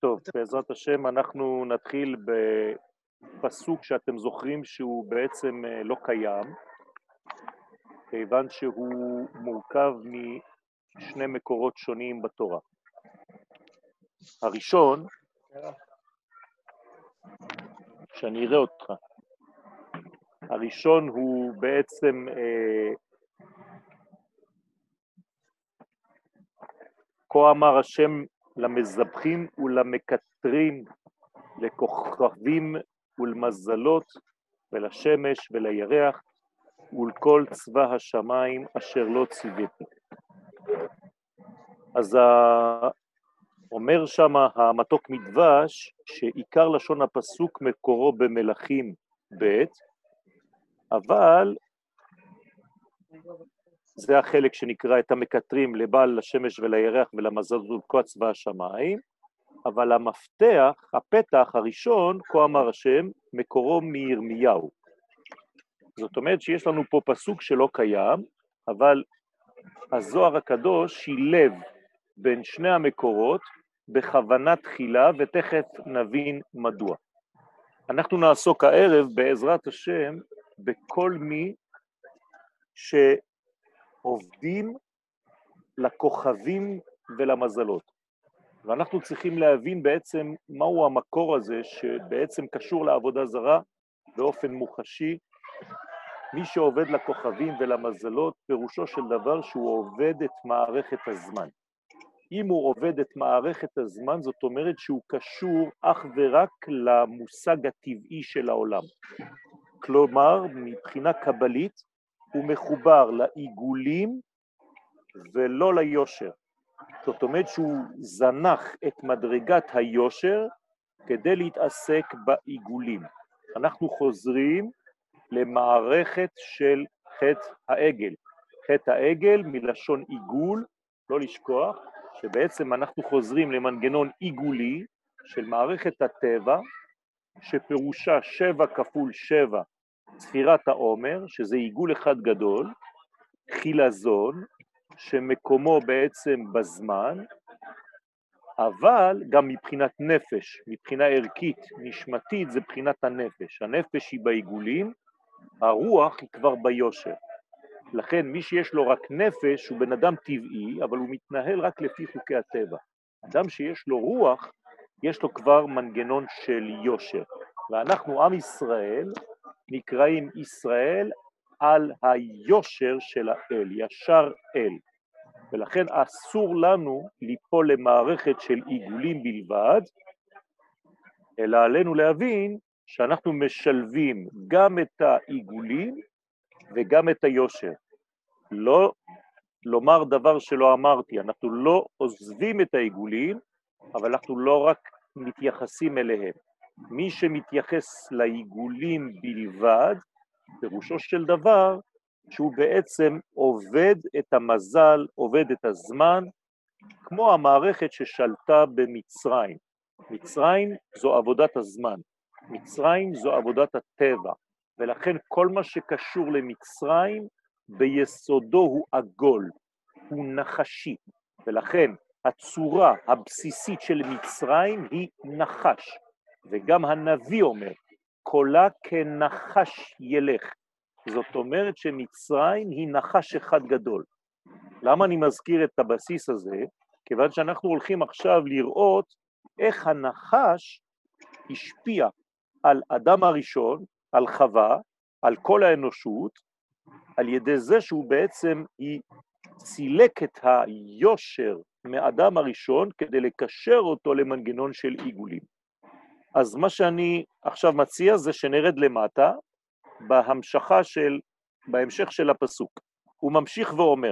טוב, בעזרת השם אנחנו נתחיל בפסוק שאתם זוכרים שהוא בעצם לא קיים, כיוון שהוא מורכב משני מקורות שונים בתורה. הראשון, שאני אראה אותך, הראשון הוא בעצם כה אמר השם למזבחים ולמקטרים, לכוכבים ולמזלות ולשמש ולירח ולכל צבא השמיים אשר לא ציוויתי. אז אומר שם המתוק מדבש שעיקר לשון הפסוק מקורו במלכים ב', אבל זה החלק שנקרא את המקטרים לבעל לשמש ולירח ולמזלות ולכל צבא השמיים, אבל המפתח, הפתח הראשון, כה אמר השם, מקורו מירמיהו. זאת אומרת שיש לנו פה פסוק שלא קיים, אבל הזוהר הקדוש שילב בין שני המקורות בכוונה תחילה, ותכף נבין מדוע. אנחנו נעסוק הערב בעזרת השם בכל מי שעובדים לכוכבים ולמזלות. ואנחנו צריכים להבין בעצם מהו המקור הזה שבעצם קשור לעבודה זרה באופן מוחשי. מי שעובד לכוכבים ולמזלות פירושו של דבר שהוא עובד את מערכת הזמן. אם הוא עובד את מערכת הזמן זאת אומרת שהוא קשור אך ורק למושג הטבעי של העולם. כלומר מבחינה קבלית הוא מחובר לעיגולים ולא ליושר. זאת אומרת שהוא זנח את מדרגת היושר כדי להתעסק בעיגולים. אנחנו חוזרים למערכת של חטא העגל. חטא העגל מלשון עיגול, לא לשכוח, שבעצם אנחנו חוזרים למנגנון עיגולי של מערכת הטבע, שפירושה 7 כפול 7 ספירת העומר, שזה עיגול אחד גדול, חילזון, שמקומו בעצם בזמן, אבל גם מבחינת נפש, מבחינה ערכית, נשמתית, זה בחינת הנפש. הנפש היא בעיגולים, הרוח היא כבר ביושר. לכן מי שיש לו רק נפש הוא בן אדם טבעי, אבל הוא מתנהל רק לפי חוקי הטבע. אדם שיש לו רוח, יש לו כבר מנגנון של יושר. ואנחנו עם ישראל נקראים ישראל על היושר של האל, ישר אל. ולכן אסור לנו ליפול למערכת של עיגולים בלבד, אלא עלינו להבין שאנחנו משלבים גם את העיגולים וגם את היושר. לא לומר דבר שלא אמרתי, אנחנו לא עוזבים את העיגולים, אבל אנחנו לא רק מתייחסים אליהם. מי שמתייחס לעיגולים בלבד, פירושו של דבר, שהוא בעצם עובד את המזל, עובד את הזמן, כמו המערכת ששלטה במצרים. מצרים זו עבודת הזמן, מצרים זו עבודת הטבע, ולכן כל מה שקשור למצרים ביסודו הוא עגול, הוא נחשי, ולכן הצורה הבסיסית של מצרים היא נחש, וגם הנביא אומר, קולה כנחש ילך. זאת אומרת שמצרים היא נחש אחד גדול. למה אני מזכיר את הבסיס הזה? כיוון שאנחנו הולכים עכשיו לראות איך הנחש השפיע על אדם הראשון, על חווה, על כל האנושות, על ידי זה שהוא בעצם סילק את היושר מאדם הראשון כדי לקשר אותו למנגנון של עיגולים. אז מה שאני עכשיו מציע זה שנרד למטה, בהמשך של הפסוק. הוא ממשיך ואומר,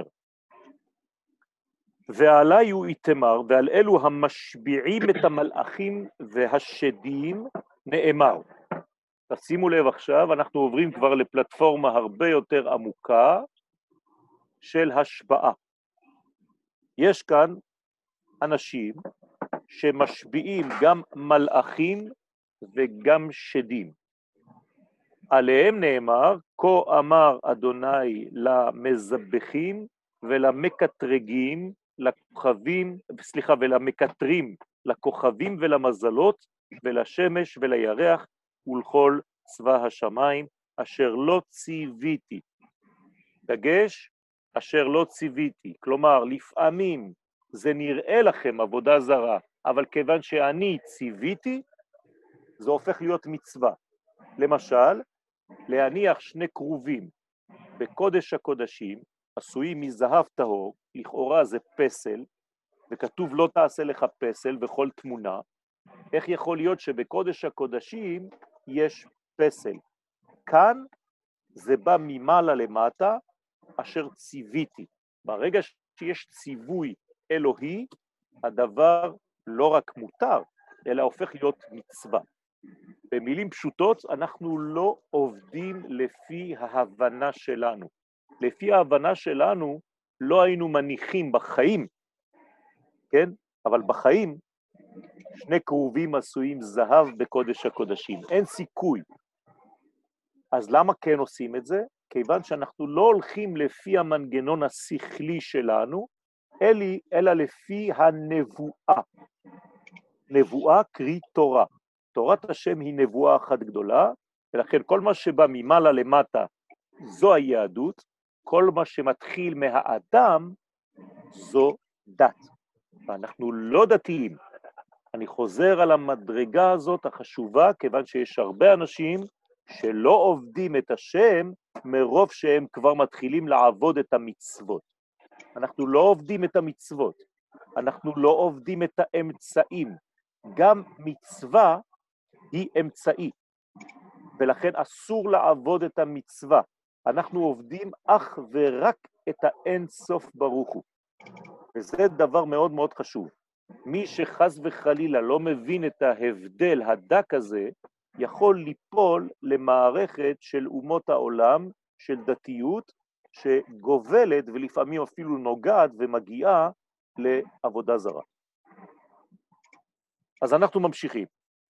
ועלי הוא יתמר, ועל אלו המשביעים את המלאכים והשדים נאמר. תשימו לב עכשיו, אנחנו עוברים כבר לפלטפורמה הרבה יותר עמוקה של השפעה. יש כאן אנשים שמשביעים גם מלאכים וגם שדים. עליהם נאמר, כה אמר אדוני למזבחים ולמקטרגים, ולמקטרים לכוכבים ולמזלות, ולשמש ולירח, ולכל צבא השמיים, אשר לא ציוויתי. דגש, אשר לא ציוויתי. כלומר, לפעמים זה נראה לכם עבודה זרה, אבל כיוון שאני ציוויתי, זה הופך להיות מצווה. למשל, להניח שני קרובים בקודש הקודשים, עשויים מזהב טהור, לכאורה זה פסל, וכתוב לא תעשה לך פסל בכל תמונה. איך יכול להיות שבקודש הקודשים יש פסל? כאן זה בא ממעלה למטה, אשר ציוויתי. ברגע שיש ציווי אלוהי, הדבר לא רק מותר, אלא הופך להיות מצווה. במילים פשוטות, אנחנו לא עובדים לפי ההבנה שלנו. לפי ההבנה שלנו לא היינו מניחים בחיים, כן? אבל בחיים שני קרובים עשויים זהב בקודש הקודשים. אין סיכוי. אז למה כן עושים את זה? כיוון שאנחנו לא הולכים לפי המנגנון השכלי שלנו, אלא לפי הנבואה. נבואה קרי תורה. תורת השם היא נבואה אחת גדולה, ולכן כל מה שבא ממעלה למטה זו היהדות, כל מה שמתחיל מהאדם זו דת. ואנחנו לא דתיים. אני חוזר על המדרגה הזאת החשובה, כיוון שיש הרבה אנשים שלא עובדים את השם מרוב שהם כבר מתחילים לעבוד את המצוות. אנחנו לא עובדים את המצוות, אנחנו לא עובדים את האמצעים. גם מצווה היא אמצעי, ולכן אסור לעבוד את המצווה. אנחנו עובדים אך ורק את האין סוף ברוך הוא. וזה דבר מאוד מאוד חשוב. מי שחס וחלילה לא מבין את ההבדל הדק הזה, יכול ליפול למערכת של אומות העולם, של דתיות, שגובלת ולפעמים אפילו נוגעת ומגיעה לעבודה זרה. אז אנחנו ממשיכים.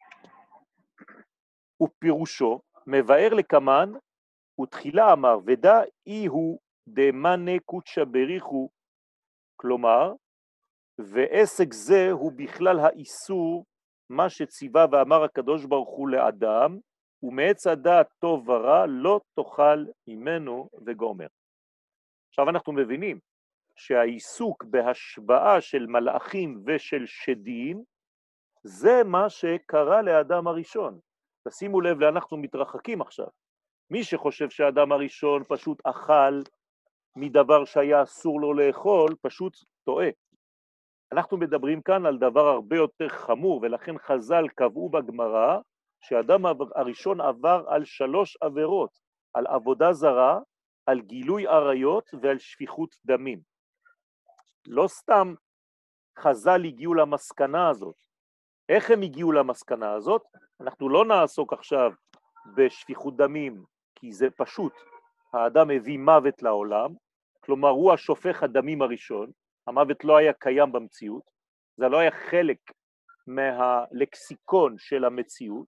ופירושו מבאר לקמן, ותחילה אמר, ודא אי הוא דמנה קודשא בריחו, כלומר, ועסק זה הוא בכלל האיסור, מה שציווה ואמר הקדוש ברוך הוא לאדם, ומעץ הדעת טוב ורע לא תאכל ממנו וגומר. עכשיו אנחנו מבינים שהעיסוק בהשבעה של מלאכים ושל שדים, זה מה שקרה לאדם הראשון. תשימו לב לאנחנו מתרחקים עכשיו. מי שחושב שהאדם הראשון פשוט אכל מדבר שהיה אסור לו לאכול, פשוט טועה. אנחנו מדברים כאן על דבר הרבה יותר חמור, ולכן חז"ל קבעו בגמרא שהאדם הראשון עבר על 3 עבירות, על עבודה זרה, על גילוי עריות ועל שפיכות דמים. לא סתם חז"ל הגיעו למסקנה הזאת. איך הם הגיעו למסקנה הזאת? אנחנו לא נעסוק עכשיו בשפיכות דמים, כי זה פשוט. האדם הביא מוות לעולם, כלומר הוא השופך הדמים הראשון, המוות לא היה קיים במציאות, זה לא היה חלק מהלקסיקון של המציאות.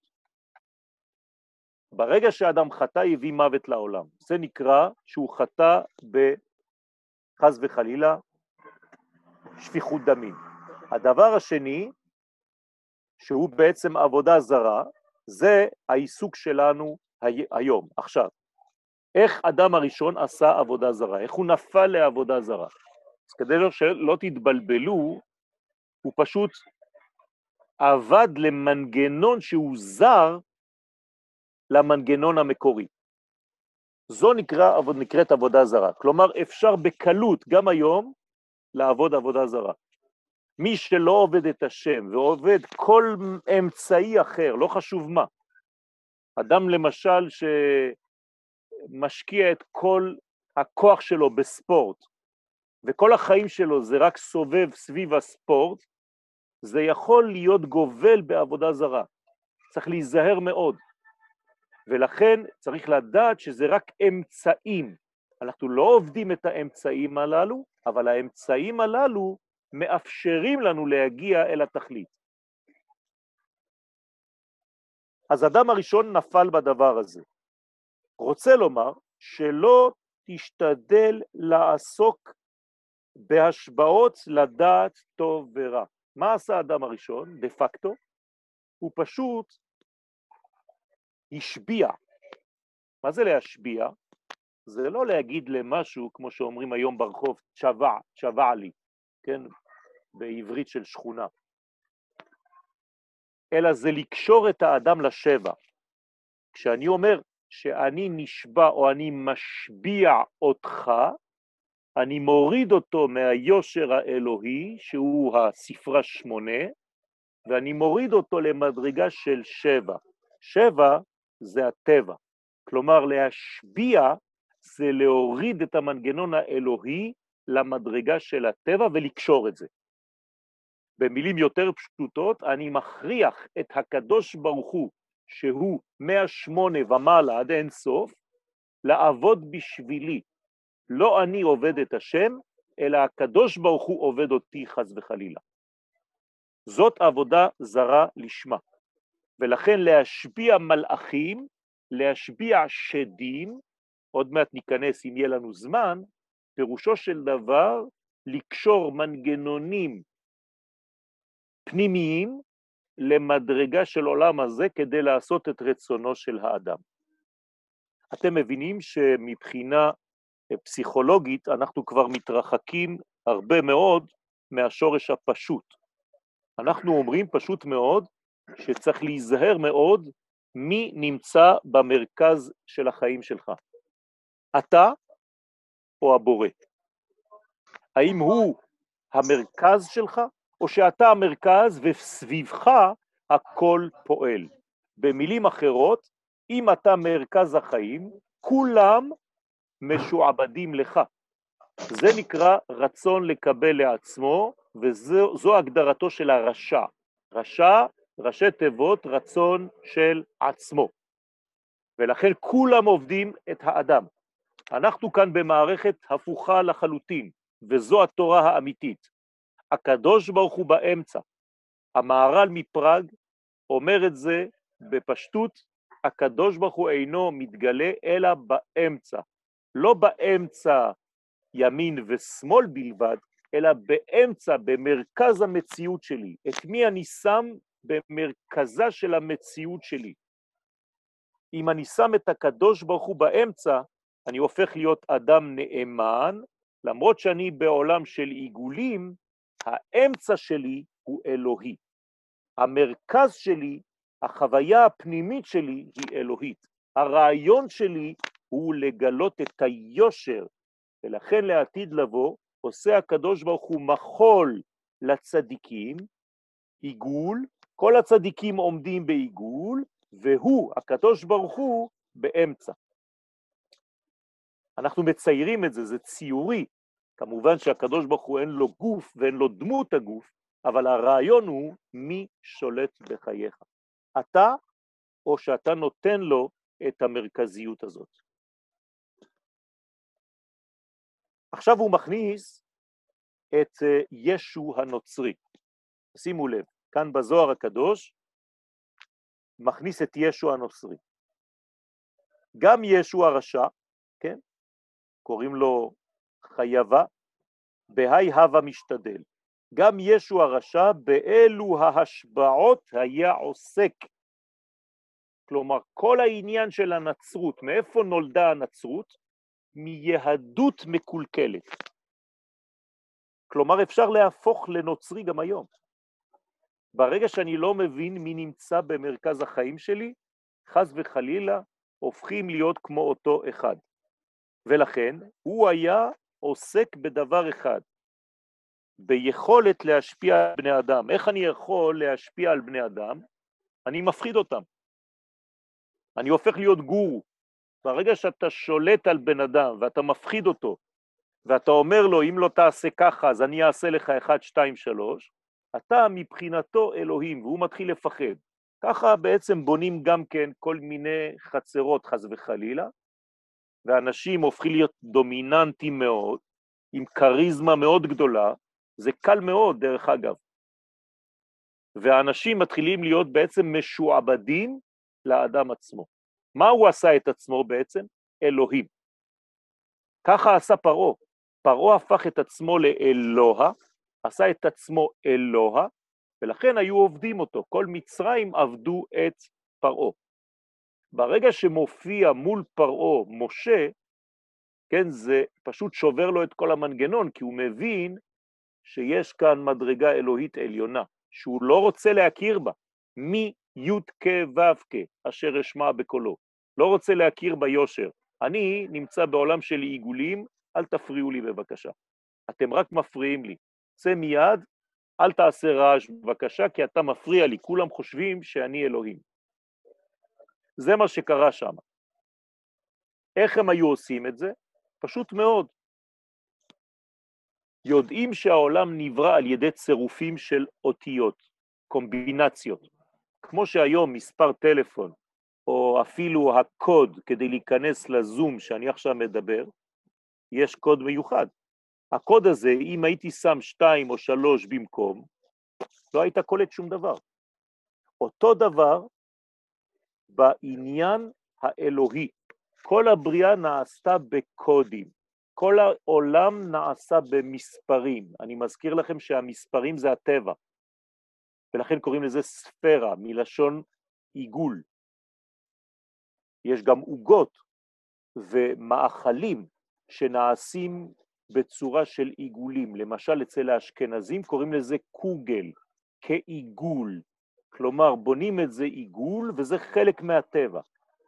ברגע שאדם חטא הביא מוות לעולם, זה נקרא שהוא חטא בחס וחלילה שפיכות דמים. הדבר השני, שהוא בעצם עבודה זרה, זה העיסוק שלנו היום, עכשיו. איך אדם הראשון עשה עבודה זרה? איך הוא נפל לעבודה זרה? אז כדי שלא תתבלבלו, הוא פשוט עבד למנגנון שהוא זר למנגנון המקורי. זו נקראת עבודה זרה. כלומר, אפשר בקלות גם היום לעבוד עבודה זרה. מי שלא עובד את השם ועובד כל אמצעי אחר, לא חשוב מה. אדם למשל שמשקיע את כל הכוח שלו בספורט, וכל החיים שלו זה רק סובב סביב הספורט, זה יכול להיות גובל בעבודה זרה. צריך להיזהר מאוד. ולכן צריך לדעת שזה רק אמצעים. אנחנו לא עובדים את האמצעים הללו, אבל האמצעים הללו מאפשרים לנו להגיע אל התכלית. אז אדם הראשון נפל בדבר הזה. רוצה לומר שלא תשתדל לעסוק בהשבעות לדעת טוב ורע. מה עשה האדם הראשון? דה פקטו, הוא פשוט השביע. מה זה להשביע? זה לא להגיד למשהו, כמו שאומרים היום ברחוב, צ'בע לי, כן? בעברית של שכונה. אלא זה לקשור את האדם לשבע. כשאני אומר שאני נשבע או אני משביע אותך, אני מוריד אותו מהיושר האלוהי, שהוא הספרה 8, ואני מוריד אותו למדרגה של 7. 7 זה הטבע. כלומר, להשביע זה להוריד את המנגנון האלוהי למדרגה של הטבע ולקשור את זה. במילים יותר פשוטות, אני מכריח את הקדוש ברוך הוא, שהוא 108 ומעלה עד אין סוף, לעבוד בשבילי. לא אני עובד את השם, אלא הקדוש ברוך הוא עובד אותי חס וחלילה. זאת עבודה זרה לשמה. ולכן להשביע מלאכים, להשביע שדים, עוד מעט ניכנס אם יהיה לנו זמן, פירושו של דבר לקשור מנגנונים פנימיים למדרגה של עולם הזה כדי לעשות את רצונו של האדם. אתם מבינים שמבחינה פסיכולוגית אנחנו כבר מתרחקים הרבה מאוד מהשורש הפשוט. אנחנו אומרים פשוט מאוד שצריך להיזהר מאוד מי נמצא במרכז של החיים שלך. אתה או הבורא? האם הוא המרכז שלך או שאתה המרכז וסביבך הכל פועל? במילים אחרות, אם אתה מרכז החיים, כולם משועבדים לך. זה נקרא רצון לקבל לעצמו, וזו הגדרתו של הרשע. רשע, ראשי תיבות, רצון של עצמו. ולכן כולם עובדים את האדם. אנחנו כאן במערכת הפוכה לחלוטין, וזו התורה האמיתית. הקדוש ברוך הוא באמצע. המהר"ל מפראג אומר את זה בפשטות, הקדוש ברוך הוא אינו מתגלה אלא באמצע. לא באמצע ימין ושמאל בלבד, אלא באמצע, במרכז המציאות שלי. את מי אני שם במרכזה של המציאות שלי? אם אני שם את הקדוש ברוך הוא באמצע, אני הופך להיות אדם נאמן, למרות שאני בעולם של עיגולים, האמצע שלי הוא אלוהי. המרכז שלי, החוויה הפנימית שלי היא אלוהית. הרעיון שלי הוא לגלות את היושר, ולכן לעתיד לבוא עושה הקדוש ברוך הוא מחול לצדיקים, עיגול, כל הצדיקים עומדים בעיגול, והוא, הקדוש ברוך הוא, באמצע. אנחנו מציירים את זה, זה ציורי. כמובן שהקדוש ברוך הוא אין לו גוף ואין לו דמות הגוף, אבל הרעיון הוא מי שולט בחייך. אתה או שאתה נותן לו את המרכזיות הזאת. עכשיו הוא מכניס את ישו הנוצרי. שימו לב, כאן בזוהר הקדוש מכניס את ישו הנוצרי. גם ישו הרשע, כן? קוראים לו חייבה, בהי הווה משתדל. גם ישו הרשע באלו ההשבעות היה עוסק. כלומר, כל העניין של הנצרות, מאיפה נולדה הנצרות? מיהדות מקולקלת. כלומר, אפשר להפוך לנוצרי גם היום. ברגע שאני לא מבין מי נמצא במרכז החיים שלי, חס וחלילה, הופכים להיות כמו אותו אחד. ולכן, הוא היה עוסק בדבר אחד, ביכולת להשפיע על בני אדם. איך אני יכול להשפיע על בני אדם? אני מפחיד אותם. אני הופך להיות גורו. ברגע שאתה שולט על בן אדם ואתה מפחיד אותו, ואתה אומר לו, אם לא תעשה ככה, אז אני אעשה לך 1, 2, 3, אתה מבחינתו אלוהים, והוא מתחיל לפחד. ככה בעצם בונים גם כן כל מיני חצרות חס וחלילה, ואנשים הופכים להיות דומיננטים מאוד, עם קריזמה מאוד גדולה, זה קל מאוד דרך אגב. והאנשים מתחילים להיות בעצם משועבדים לאדם עצמו. מה הוא עשה את עצמו בעצם? אלוהים. ככה עשה פרעה. פרעה הפך את עצמו לאלוה, עשה את עצמו אלוה, ולכן היו עובדים אותו. כל מצרים עבדו את פרעה. ברגע שמופיע מול פרעה משה, כן, זה פשוט שובר לו את כל המנגנון, כי הוא מבין שיש כאן מדרגה אלוהית עליונה, שהוא לא רוצה להכיר בה. מי י' ו' אשר אשמע בקולו. לא רוצה להכיר ביושר. אני נמצא בעולם של עיגולים, אל תפריעו לי בבקשה. אתם רק מפריעים לי. צא מיד, אל תעשה רעש בבקשה, כי אתה מפריע לי. כולם חושבים שאני אלוהים. זה מה שקרה שם. איך הם היו עושים את זה? פשוט מאוד. יודעים שהעולם נברא על ידי צירופים של אותיות, קומבינציות. כמו שהיום מספר טלפון, או אפילו הקוד כדי להיכנס לזום שאני עכשיו מדבר, יש קוד מיוחד. הקוד הזה, אם הייתי שם 2 או 3 במקום, לא היית קולט שום דבר. אותו דבר בעניין האלוהי. כל הבריאה נעשתה בקודים. כל העולם נעשה במספרים. אני מזכיר לכם שהמספרים זה הטבע. ולכן קוראים לזה ספירה, מלשון עיגול. יש גם עוגות ומאכלים שנעשים בצורה של עיגולים. למשל אצל האשכנזים קוראים לזה קוגל, כעיגול. כלומר בונים את זה עיגול וזה חלק מהטבע.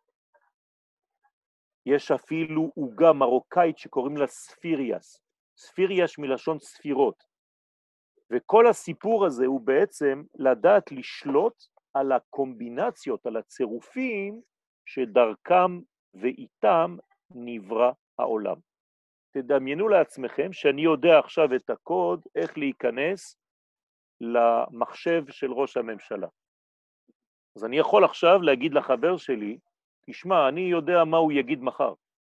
יש אפילו עוגה מרוקאית שקוראים לה ספיריאס. ספיריאס מלשון ספירות. וכל הסיפור הזה הוא בעצם לדעת לשלוט על הקומבינציות, על הצירופים שדרכם ואיתם נברא העולם. תדמיינו לעצמכם שאני יודע עכשיו את הקוד איך להיכנס למחשב של ראש הממשלה. אז אני יכול עכשיו להגיד לחבר שלי, תשמע, אני יודע מה הוא יגיד מחר.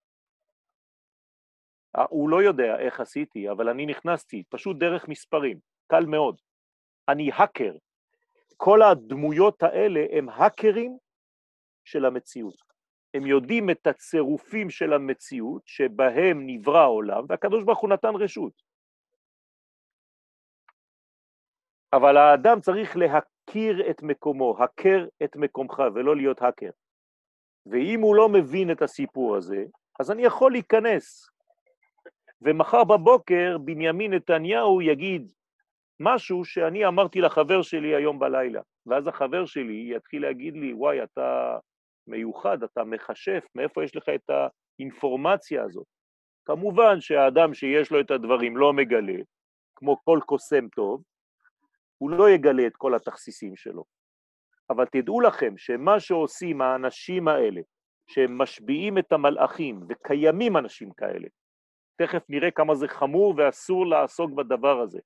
הוא לא יודע איך עשיתי, אבל אני נכנסתי פשוט דרך מספרים, קל מאוד. אני האקר. כל הדמויות האלה הם האקרים של המציאות. הם יודעים את הצירופים של המציאות שבהם נברא העולם, והקדוש ברוך הוא נתן רשות. אבל האדם צריך להכיר את מקומו, הכר את מקומך ולא להיות האקר. ואם הוא לא מבין את הסיפור הזה, אז אני יכול להיכנס. ומחר בבוקר בנימין נתניהו יגיד משהו שאני אמרתי לחבר שלי היום בלילה, ואז החבר שלי יתחיל להגיד לי, וואי, אתה מיוחד, אתה מחשף, מאיפה יש לך את האינפורמציה הזאת? כמובן שהאדם שיש לו את הדברים לא מגלה, כמו כל קוסם טוב, הוא לא יגלה את כל התכסיסים שלו. אבל תדעו לכם שמה שעושים האנשים האלה, שהם משביעים את המלאכים, וקיימים אנשים כאלה, תכף נראה כמה זה חמור ואסור לעסוק בדבר הזה.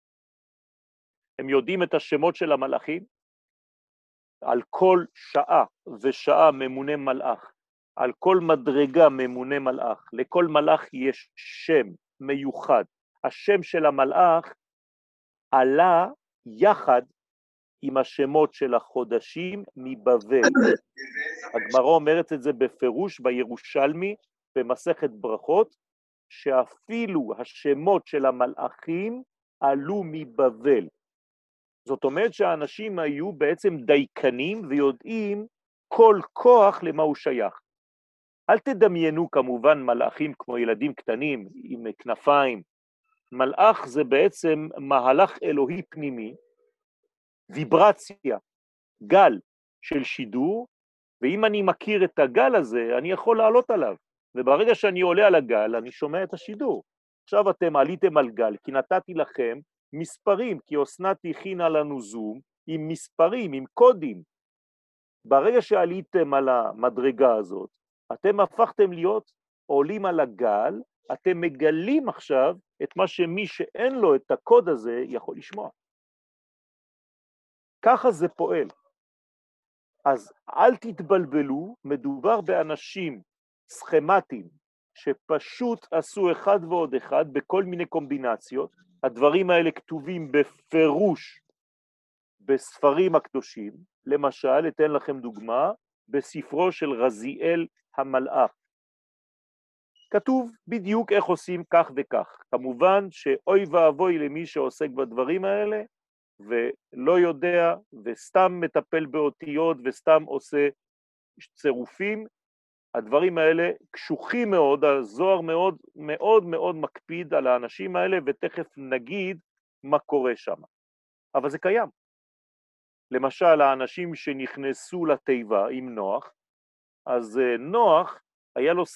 הם יודעים את השמות של המלאכים, על כל שעה ושעה ממונה מלאך, על כל מדרגה ממונה מלאך, לכל מלאך יש שם מיוחד. השם של המלאך עלה יחד עם השמות של החודשים מבבל. הגמרא אומרת את זה בפירוש בירושלמי, במסכת ברכות, שאפילו השמות של המלאכים עלו מבבל. זאת אומרת שהאנשים היו בעצם דייקנים ויודעים כל כוח למה הוא שייך. אל תדמיינו כמובן מלאכים כמו ילדים קטנים עם כנפיים. מלאך זה בעצם מהלך אלוהי פנימי, ויברציה, גל של שידור, ואם אני מכיר את הגל הזה, אני יכול לעלות עליו. וברגע שאני עולה על הגל, אני שומע את השידור. עכשיו אתם עליתם על גל, כי נתתי לכם מספרים, כי אסנת הכינה לנו זום עם מספרים, עם קודים. ברגע שעליתם על המדרגה הזאת, אתם הפכתם להיות עולים על הגל, אתם מגלים עכשיו את מה שמי שאין לו את הקוד הזה יכול לשמוע. ככה זה פועל. אז אל תתבלבלו, מדובר באנשים סכמטיים, שפשוט עשו אחד ועוד אחד בכל מיני קומבינציות. הדברים האלה כתובים בפירוש בספרים הקדושים. למשל, אתן לכם דוגמה, בספרו של רזיאל המלאך. כתוב בדיוק איך עושים כך וכך. כמובן שאוי ואבוי למי שעוסק בדברים האלה, ולא יודע וסתם מטפל באותיות וסתם עושה צירופים, הדברים האלה קשוחים מאוד, הזוהר מאוד מאוד מאוד מקפיד על האנשים האלה, ותכף נגיד מה קורה שם. אבל זה קיים. למשל, האנשים שנכנסו לתיבה עם נוח, אז נוח היה לו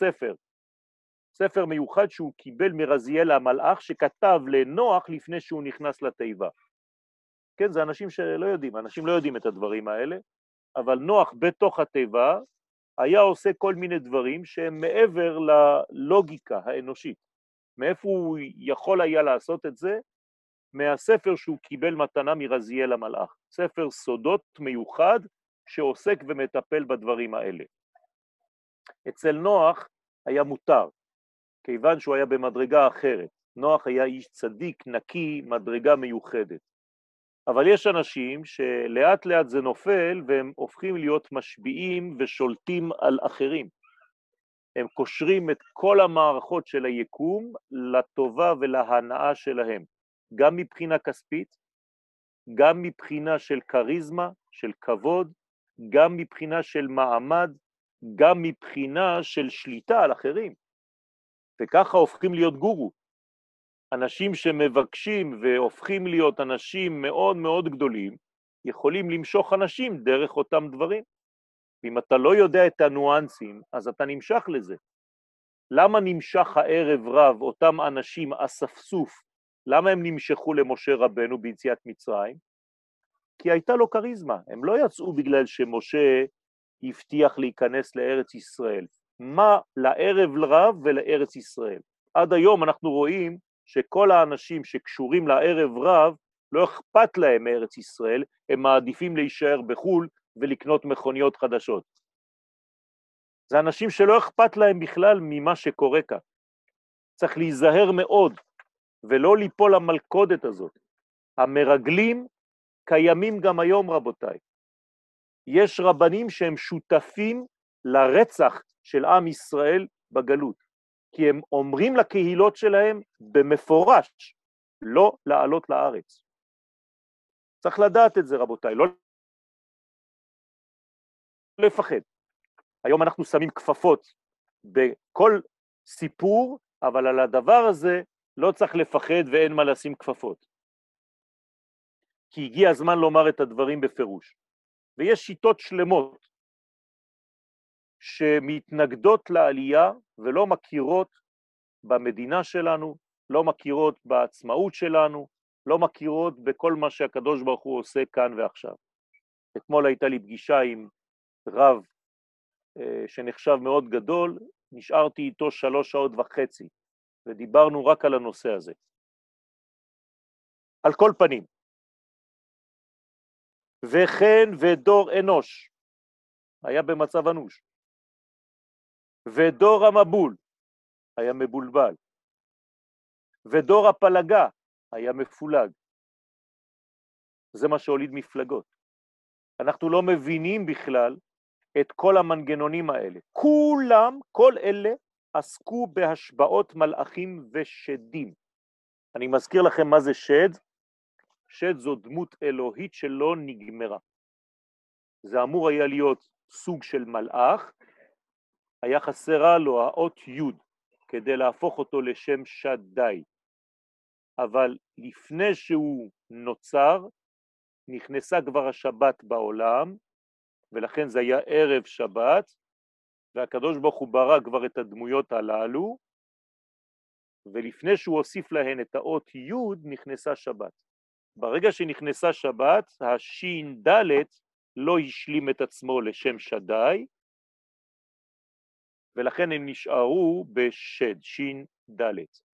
ספר מיוחד שהוא קיבל מרזיאל המלאך, שכתב לנוח לפני שהוא נכנס לתיבה. כן, זה אנשים שלא יודעים, אנשים לא יודעים את הדברים האלה, אבל נוח בתוך התיבה היה עושה כל מיני דברים שהם מעבר ללוגיקה האנושית. מאיפה הוא יכול היה לעשות את זה? מהספר שהוא קיבל מתנה מרזיאל המלאך. ספר סודות מיוחד שעוסק ומטפל בדברים האלה. אצל נוח היה מותר, כיוון שהוא היה במדרגה אחרת. נוח היה איש צדיק, נקי, מדרגה מיוחדת. אבל יש אנשים שלאט לאט זה נופל והם הופכים להיות משפיעים ושולטים על אחרים. הם קושרים את כל המערכות של היקום לטובה ולהנאה שלהם, גם מבחינה כספית, גם מבחינה של קריזמה, של כבוד, גם מבחינה של מעמד, גם מבחינה של שליטה על אחרים. וככה הופכים להיות גורו. אנשים שמבקשים והופכים להיות אנשים מאוד מאוד גדולים, יכולים למשוך אנשים דרך אותם דברים. ואם אתה לא יודע את הנואנסים, אז אתה נמשך לזה. למה נמשך הערב רב אותם אנשים אספסוף? למה הם נמשכו למשה רבנו ביציאת מצרים? כי הייתה לו קריזמה. הם לא יצאו בגלל שמשה הבטיח להיכנס לארץ ישראל. מה לערב רב ולארץ ישראל? עד היום אנחנו רואים שכל האנשים שקשורים לערב רב, לא אכפת להם מארץ ישראל, הם מעדיפים להישאר בחול ולקנות מכוניות חדשות. זה אנשים שלא אכפת להם בכלל ממה שקורה כאן. צריך להיזהר מאוד ולא ליפול למלכודת הזאת. המרגלים קיימים גם היום, רבותיי. יש רבנים שהם שותפים לרצח של עם ישראל בגלות, כי הם אומרים לקהילות שלהם במפורש לא לעלות לארץ. צריך לדעת את זה, רבותיי, לא לפחד. היום אנחנו שמים כפפות בכל סיפור, אבל על הדבר הזה לא צריך לפחד ואין מה לשים כפפות. כי הגיע הזמן לומר את הדברים בפירוש. ויש שיטות שלמות שמתנגדות לעלייה ולא מכירות במדינה שלנו, לא מכירות בעצמאות שלנו, לא מכירות בכל מה שהקדוש ברוך הוא עושה כאן ועכשיו. אתמול הייתה לי פגישה עם רב שנחשב מאוד גדול, נשארתי איתו 3.5 שעות, ודיברנו רק על הנושא הזה. על כל פנים. וכן ודור אנוש, היה במצב אנוש. ודור המבול, היה מבולבל. ודור הפלגה, היה מפולג. זה מה שהוליד מפלגות. אנחנו לא מבינים בכלל את כל המנגנונים האלה. כולם, כל אלה, עסקו בהשבעות מלאכים ושדים. אני מזכיר לכם מה זה שד. שד זו דמות אלוהית שלא נגמרה. זה אמור היה להיות סוג של מלאך, היה חסרה לו האות י' כדי להפוך אותו לשם שדי. אבל לפני שהוא נוצר, נכנסה כבר השבת בעולם, ולכן זה היה ערב שבת, והקדוש ברוך הוא ברא כבר את הדמויות הללו, ולפני שהוא הוסיף להן את האות י' נכנסה שבת. ברגע שנכנסה שבת, השין ד' לא השלים את עצמו לשם שדי, ולכן הם נשארו בשד, שין ד'.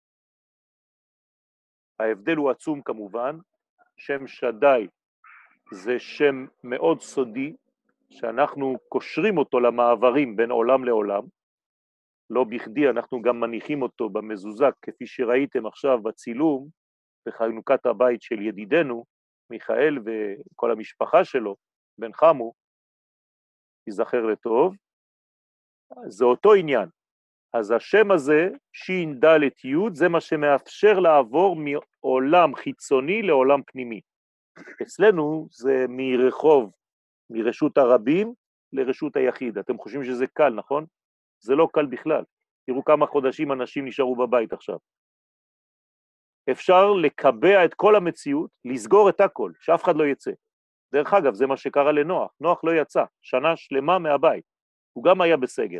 ההבדל הוא עצום כמובן, שם שדי זה שם מאוד סודי, שאנחנו קושרים אותו למעברים בין עולם לעולם, לא בכדי אנחנו גם מניחים אותו במזוזה, כפי שראיתם עכשיו בצילום, בחנוכת הבית של ידידנו, מיכאל וכל המשפחה שלו, בן חמו, יזכר לטוב, זה אותו עניין. אז השם הזה, שין ד' י', זה מה שמאפשר לעבור מעולם חיצוני לעולם פנימי. אצלנו זה מרשות הרבים לרשות היחיד. אתם חושבים שזה קל, נכון? זה לא קל בכלל. תראו כמה חודשים אנשים נשארו בבית עכשיו. אפשר לקבע את כל המציאות, לסגור את הכל, שאף אחד לא יצא. דרך אגב, זה מה שקרה לנוח. נוח לא יצא, שנה שלמה מהבית. הוא גם היה בסגר.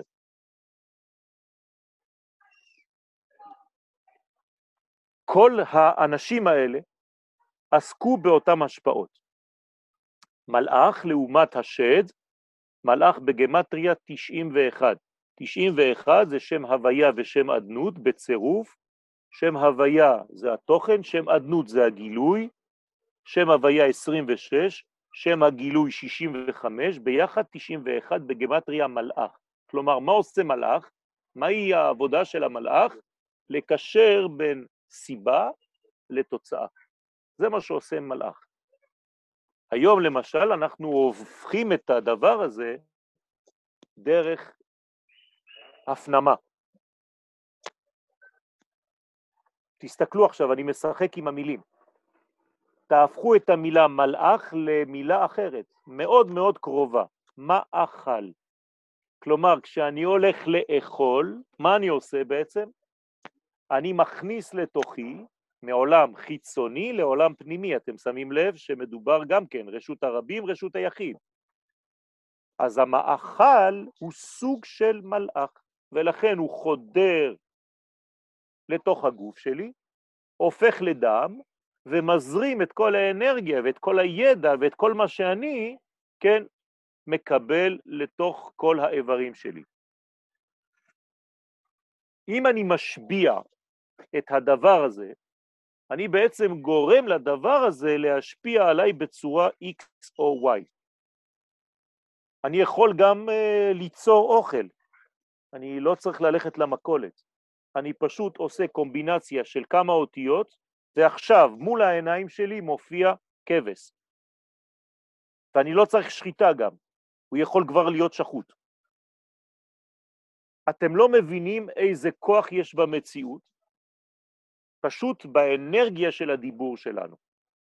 כל האנשים האלה עסקו באותם השפעות. מלאך לעומת השד, מלאך בגמטריה 91. 91 זה שם הוויה ושם עדנות בצירוף, שם הוויה זה התוכן, שם עדנות זה הגילוי, שם הוויה 26, שם הגילוי 65, ביחד 91 בגמטריה מלאך. כלומר, מה עושה מלאך? מהי העבודה של המלאך? לקשר בין סיבה לתוצאה. זה מה שעושה מלאך. היום למשל אנחנו הופכים את הדבר הזה דרך הפנמה. תסתכלו עכשיו, אני משחק עם המילים. תהפכו את המילה מלאך למילה אחרת, מאוד מאוד קרובה. מאכל. כלומר, כשאני הולך לאכול, מה אני עושה בעצם? אני מכניס לתוכי מעולם חיצוני לעולם פנימי. אתם שמים לב שמדובר גם כן, רשות הרבים, רשות היחיד. אז המאכל הוא סוג של מלאך, ולכן הוא חודר לתוך הגוף שלי, הופך לדם, ומזרים את כל האנרגיה ואת כל הידע ואת כל מה שאני, כן, מקבל לתוך כל האיברים שלי. אם אני משביע את הדבר הזה, אני בעצם גורם לדבר הזה להשפיע עליי בצורה X או Y. אני יכול גם ליצור אוכל. אני לא צריך ללכת למכולת. אני פשוט עושה קומבינציה של כמה אותיות, ועכשיו מול העיניים שלי מופיע כבש. ואני לא צריך שחיטה גם. הוא יכול כבר להיות שחוט. אתם לא מבינים איזה כוח יש במציאות, פשוט באנרגיה של הדיבור שלנו.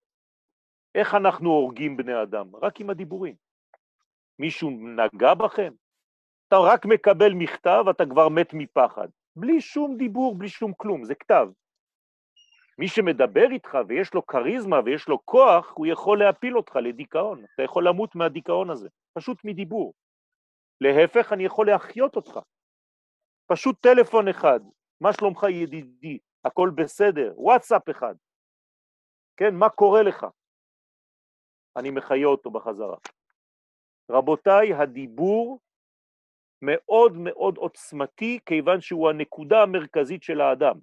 איך אנחנו הורגים בני אדם? רק עם הדיבורים. מישהו נגע בכם? אתה רק מקבל מכתב, אתה כבר מת מפחד. בלי שום דיבור, בלי שום כלום, זה כתב. מי שמדבר איתך ויש לו קריזמה ויש לו כוח, הוא יכול להפיל אותך לדיכאון. אתה יכול למות מהדיכאון הזה, פשוט מדיבור. להפך, אני יכול להחיות אותך. פשוט טלפון אחד, מה שלומך ידידי, הכל בסדר, וואטסאפ אחד. כן, מה קורה לך? אני מחיה אותו בחזרה. רבותיי, הדיבור מאוד מאוד עוצמתי, כיוון שהוא הנקודה המרכזית של האדם.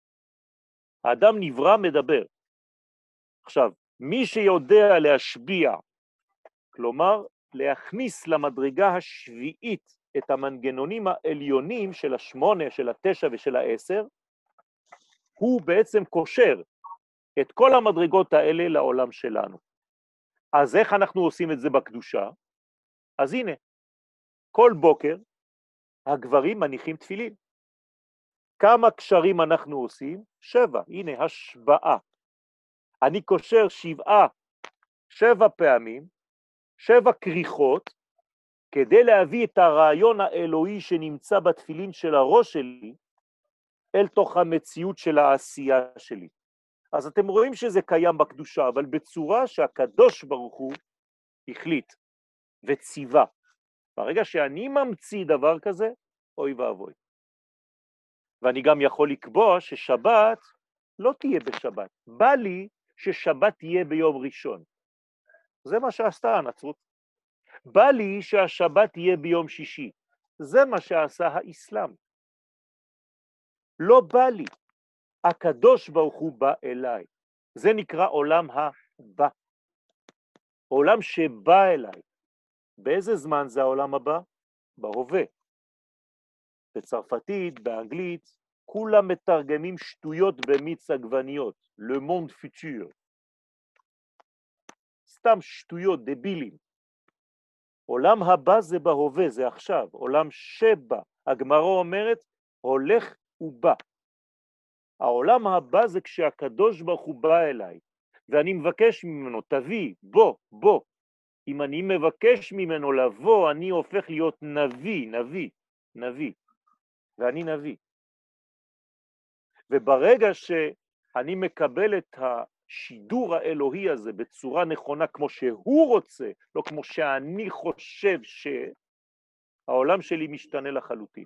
האדם נברא מדבר. עכשיו, מי שיודע להשביע, כלומר, להכניס למדרגה השביעית את המנגנונים העליונים של 8, של 9 ושל 10, הוא בעצם קושר את כל המדרגות האלה לעולם שלנו. אז איך אנחנו עושים את זה בקדושה? אז הנה, כל בוקר הגברים מניחים תפילין. כמה קשרים אנחנו עושים? 7. הנה, השבעה. אני קושר 7 פעמים, 7 קריחות, כדי להביא את הרעיון האלוהי שנמצא בתפילין של הראש שלי, אל תוך המציאות של העשייה שלי. אז אתם רואים שזה קיים בקדושה, אבל בצורה שהקדוש ברוך הוא החליט וציווה. ברגע שאני ממציא דבר כזה, אוי ואבוי. ואני גם יכול לקבוע ששבת לא תהיה בשבת. בא לי ששבת תהיה ביום ראשון. זה מה שעשתה הנצרות. בא לי שהשבת תהיה ביום שישי. זה מה שעשה האסלאם. לא בא לי. הקדוש ברוך הוא בא אליי. זה נקרא עולם הבא. עולם שבא אליי. באיזה זמן זה העולם הבא? בהווה. בצרפתית, באנגלית, כולם מתרגמים שטויות במיץ עגבניות. Le monde futur. סתם שטויות, דבילים. עולם הבא זה בהווה, זה עכשיו. עולם שבא. הגמרא אומרת, הולך ובא. העולם הבא זה כשהקדוש ברוך הוא בא אליי. ואני מבקש ממנו, תביא, בוא. אם אני מבקש ממנו לבוא, אני הופך להיות נביא, ואני נביא. וברגע שאני מקבל את השידור האלוהי הזה בצורה נכונה כמו שהוא רוצה, לא כמו שאני חושב שהעולם שלי משתנה לחלוטין.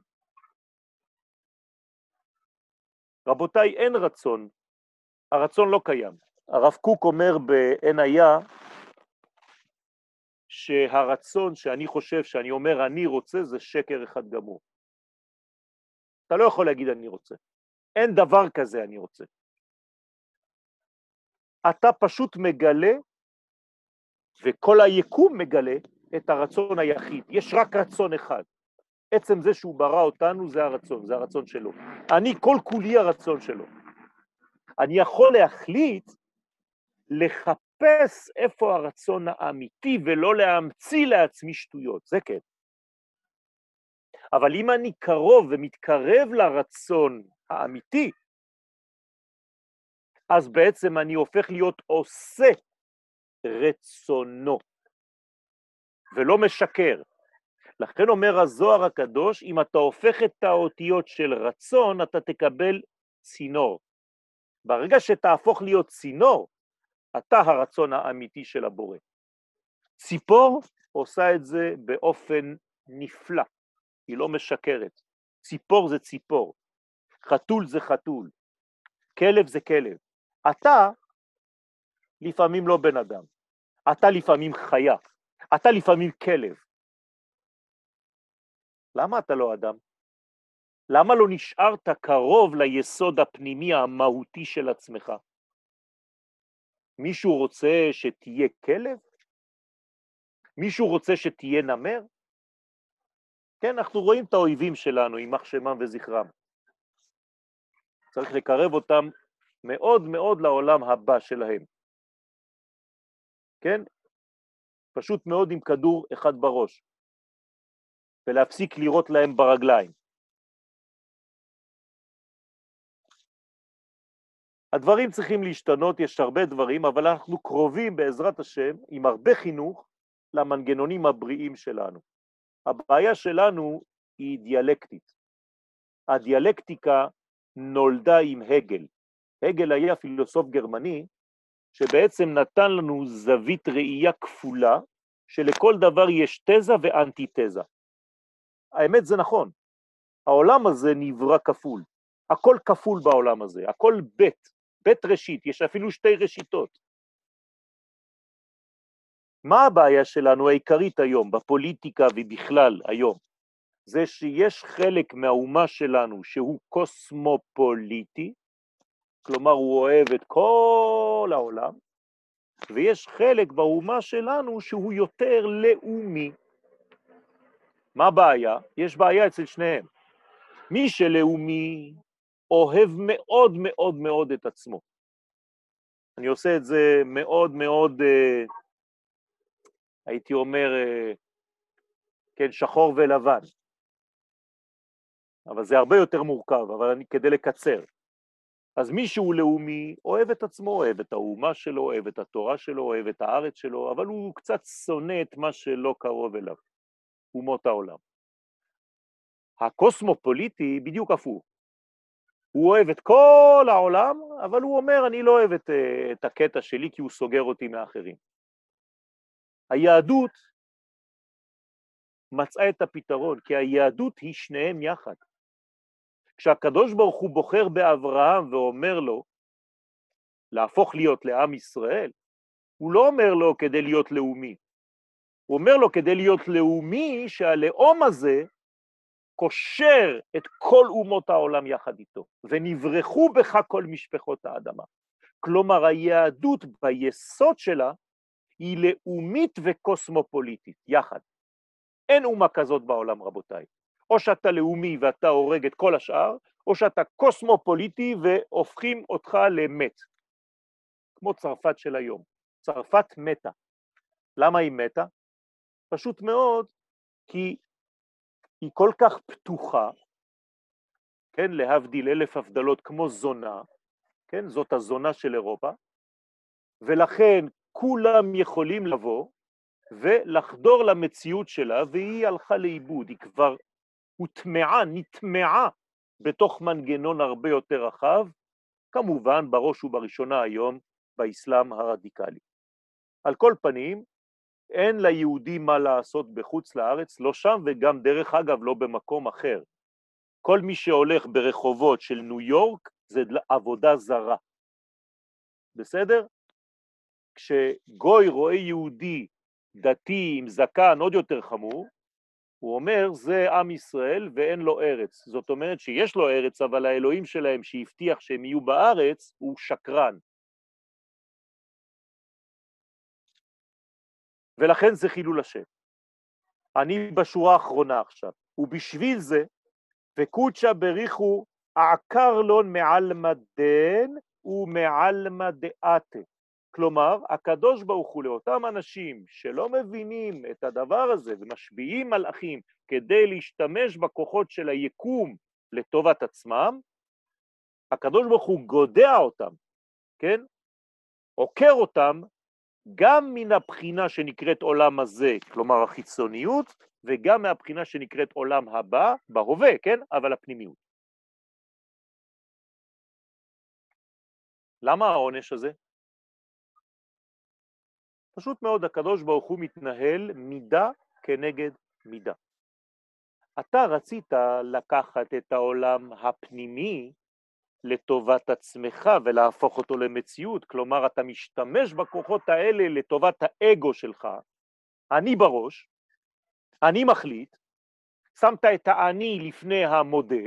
רבותיי, אין רצון, הרצון לא קיים. הרב קוק אומר באין היה, שהרצון שאני חושב, שאני אומר אני רוצה, זה שקר אחד גמור. אתה לא יכול להגיד אני רוצה. אין דבר כזה אני רוצה. אתה פשוט מגלה, וכל היקום מגלה, את הרצון היחיד. יש רק רצון אחד. עצם זה שהוא ברא אותנו זה הרצון, זה הרצון שלו. אני כל כולי הרצון שלו. אני יכול להחליט לחפש איפה הרצון האמיתי ולא להמציא לעצמי שטויות, זה כן. אבל אם אני קרוב ומתקרב לרצון האמיתי, אז בעצם אני הופך להיות עושה רצונו, ולא משקר. לכן אומר הזוהר הקדוש, אם אתה הופך את האותיות של רצון, אתה תקבל צינור. ברגע שתהפוך להיות צינור, אתה הרצון האמיתי של הבורא. ציפור עושה את זה באופן נפלא, היא לא משקרת. ציפור זה ציפור, חתול זה חתול, כלב זה כלב. אתה לפעמים לא בן אדם, אתה לפעמים חיה, אתה לפעמים כלב. למה אתה לא אדם? למה לא נשארת קרוב ליסוד הפנימי המהותי של עצמך? מישהו רוצה שתהיה כלב? מישהו רוצה שתהיה נמר? כן, אנחנו רואים את האויבים שלנו, יימח שמם וזכרם. צריך לקרב אותם מאוד מאוד לעולם הבא שלהם. כן? פשוט מאוד עם כדור אחד בראש, ולהפסיק לראות להם ברגליים. הדברים צריכים להשתנות, יש הרבה דברים, אבל אנחנו קרובים בעזרת השם, עם הרבה חינוך, למנגנונים הבריאים שלנו. הבעיה שלנו היא דיאלקטית. הדיאלקטיקה נולדה עם הגל. הגל היה פילוסוף גרמני, שבעצם נתן לנו זווית ראייה כפולה, שלכל דבר יש תזה ואנטי-תזה. האמת זה נכון. העולם הזה נברא כפול. הכל כפול בעולם הזה, הכל בית ראשית, יש אפילו שתי ראשיתות. מה הבעיה שלנו העיקרית היום, בפוליטיקה ובכלל היום? זה שיש חלק מהאומה שלנו שהוא קוסמופוליטי, כלומר הוא אוהב את כל העולם, ויש חלק באומה שלנו שהוא יותר לאומי. מה הבעיה? יש בעיה אצל שניהם. מי שלאומי אוהב מאוד מאוד מאוד את עצמו. אני עושה את זה מאוד מאוד, הייתי אומר, כן, שחור ולבן. אבל זה הרבה יותר מורכב, אבל כדי לקצר. אז מי שהוא לאומי אוהב את עצמו, אוהב את האומה שלו, אוהב את התורה שלו, אוהב את הארץ שלו, אבל הוא קצת שונא את מה שלא קרוב אליו, אומות העולם. הקוסמופוליטי בדיוק הפוך. הוא אוהב את כל העולם, אבל הוא אומר, אני לא אוהב את הקטע שלי, כי הוא סוגר אותי מאחרים. היהדות מצאה את הפתרון, כי היהדות היא שניהם יחד. כשהקדוש ברוך הוא בוחר באברהם ואומר לו להפוך להיות לעם ישראל, הוא לא אומר לו כדי להיות לאומי. הוא אומר לו כדי להיות לאומי שהלאום הזה קושר את כל אומות העולם יחד איתו, ונברחו בך כל משפחות האדמה. כלומר, היהדות ביסוד שלה היא לאומית וקוסמופוליטית, יחד. אין אומה כזאת בעולם, רבותיי. או שאתה לאומי ואתה הורג את כל השאר, או שאתה קוסמופוליטי והופכים אותך למת. כמו צרפת של היום. צרפת מתה. למה היא מתה? פשוט מאוד, כי היא כל כך פתוחה, כן, להבדיל אלף הבדלות כמו זונה, כן, זאת הזונה של אירופה, ולכן כולם יכולים לבוא ולחדור למציאות שלה, והיא הלכה לאיבוד, היא כבר הוטמעה, נטמעה בתוך מנגנון הרבה יותר רחב, כמובן בראש ובראשונה היום באסלאם הרדיקלי. על כל פנים, אין ליהודי מה לעשות בחוץ לארץ, לא שם וגם דרך אגב לא במקום אחר. כל מי שהולך ברחובות של ניו יורק זה עבודה זרה. בסדר? כשגוי רואה יהודי דתי עם זקן עוד יותר חמור, הוא אומר זה עם ישראל ואין לו ארץ. זאת אומרת שיש לו ארץ, אבל האלוהים שלהם שהבטיח שהם יהיו בארץ הוא שקרן. ולכן זה חילול השם. אני בשורה האחרונה עכשיו, ובשביל זה, וקודשה בריחו עקר לון מעלמא דין ומעלמא דעתה. כלומר, הקדוש ברוך הוא לאותם אנשים שלא מבינים את הדבר הזה ומשביעים מלאכים כדי להשתמש בכוחות של היקום לטובת עצמם, הקדוש ברוך הוא גודע אותם, כן? עוקר אותם גם מן הבחינה שנקראת עולם הזה, כלומר החיצוניות, וגם מהבחינה שנקראת עולם הבא, בהווה, כן? אבל הפנימיות. למה העונש הזה? פשוט מאוד, הקדוש ברוך הוא מתנהל מידה כנגד מידה. אתה רצית לקחת את העולם הפנימי לטובת עצמך ולהפוך אותו למציאות, כלומר אתה משתמש בכוחות האלה לטובת האגו שלך, אני בראש, אני מחליט, שמת את האני לפני המודה,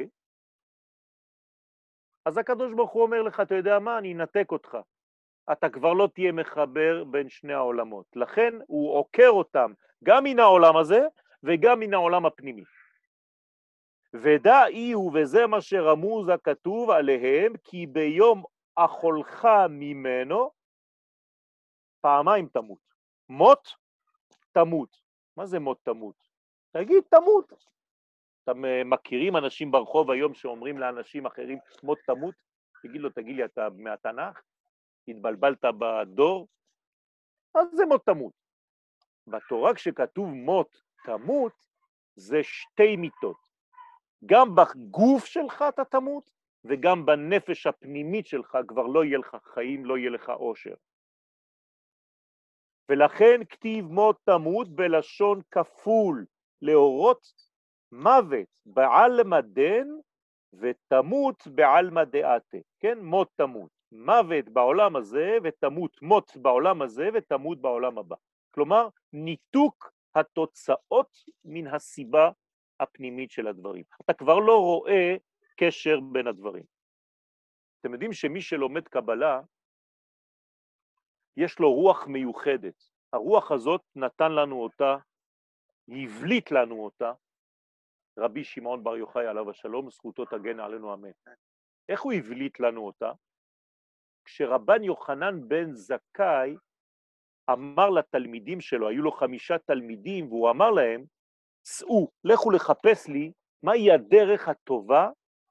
אז הקדוש ברוך הוא אומר לך, אתה יודע מה, אני אנתק אותך, אתה כבר לא תהיה מחבר בין שני העולמות, לכן הוא עוקר אותם גם מן העולם הזה וגם מן העולם הפנימי. ודע אי וזה מה שרמוז הכתוב עליהם, כי ביום אכולך ממנו פעמיים תמות. מות תמות. מה זה מות תמות? תגיד תמות. אתם מכירים אנשים ברחוב היום שאומרים לאנשים אחרים מות תמות? תגיד לי, אתה מהתנ"ך? התבלבלת בדור? אז זה מות תמות. בתורה כשכתוב מות תמות, זה שתי מיתות. גם בגוף שלך אתה תמות, וגם בנפש הפנימית שלך כבר לא יהיה לך חיים, לא יהיה לך אושר. ולכן כתיב מות תמות בלשון כפול, להורות מוות בעלמא דין ותמות בעלמא דעתה. כן, מות תמות. מוות בעולם הזה ותמות, מות בעולם הזה ותמות בעולם הבא. כלומר, ניתוק התוצאות מן הסיבה הפנימית של הדברים. אתה כבר לא רואה קשר בין הדברים. אתם יודעים שמי שלומד קבלה, יש לו רוח מיוחדת. הרוח הזאת נתן לנו אותה, הבליט לנו אותה, רבי שמעון בר יוחאי עליו השלום, זכותו תגן עלינו אמן. איך הוא הבליט לנו אותה? כשרבן יוחנן בן זכאי אמר לתלמידים שלו, היו לו 5 תלמידים, והוא אמר להם, צאו, לכו לחפש לי מהי הדרך הטובה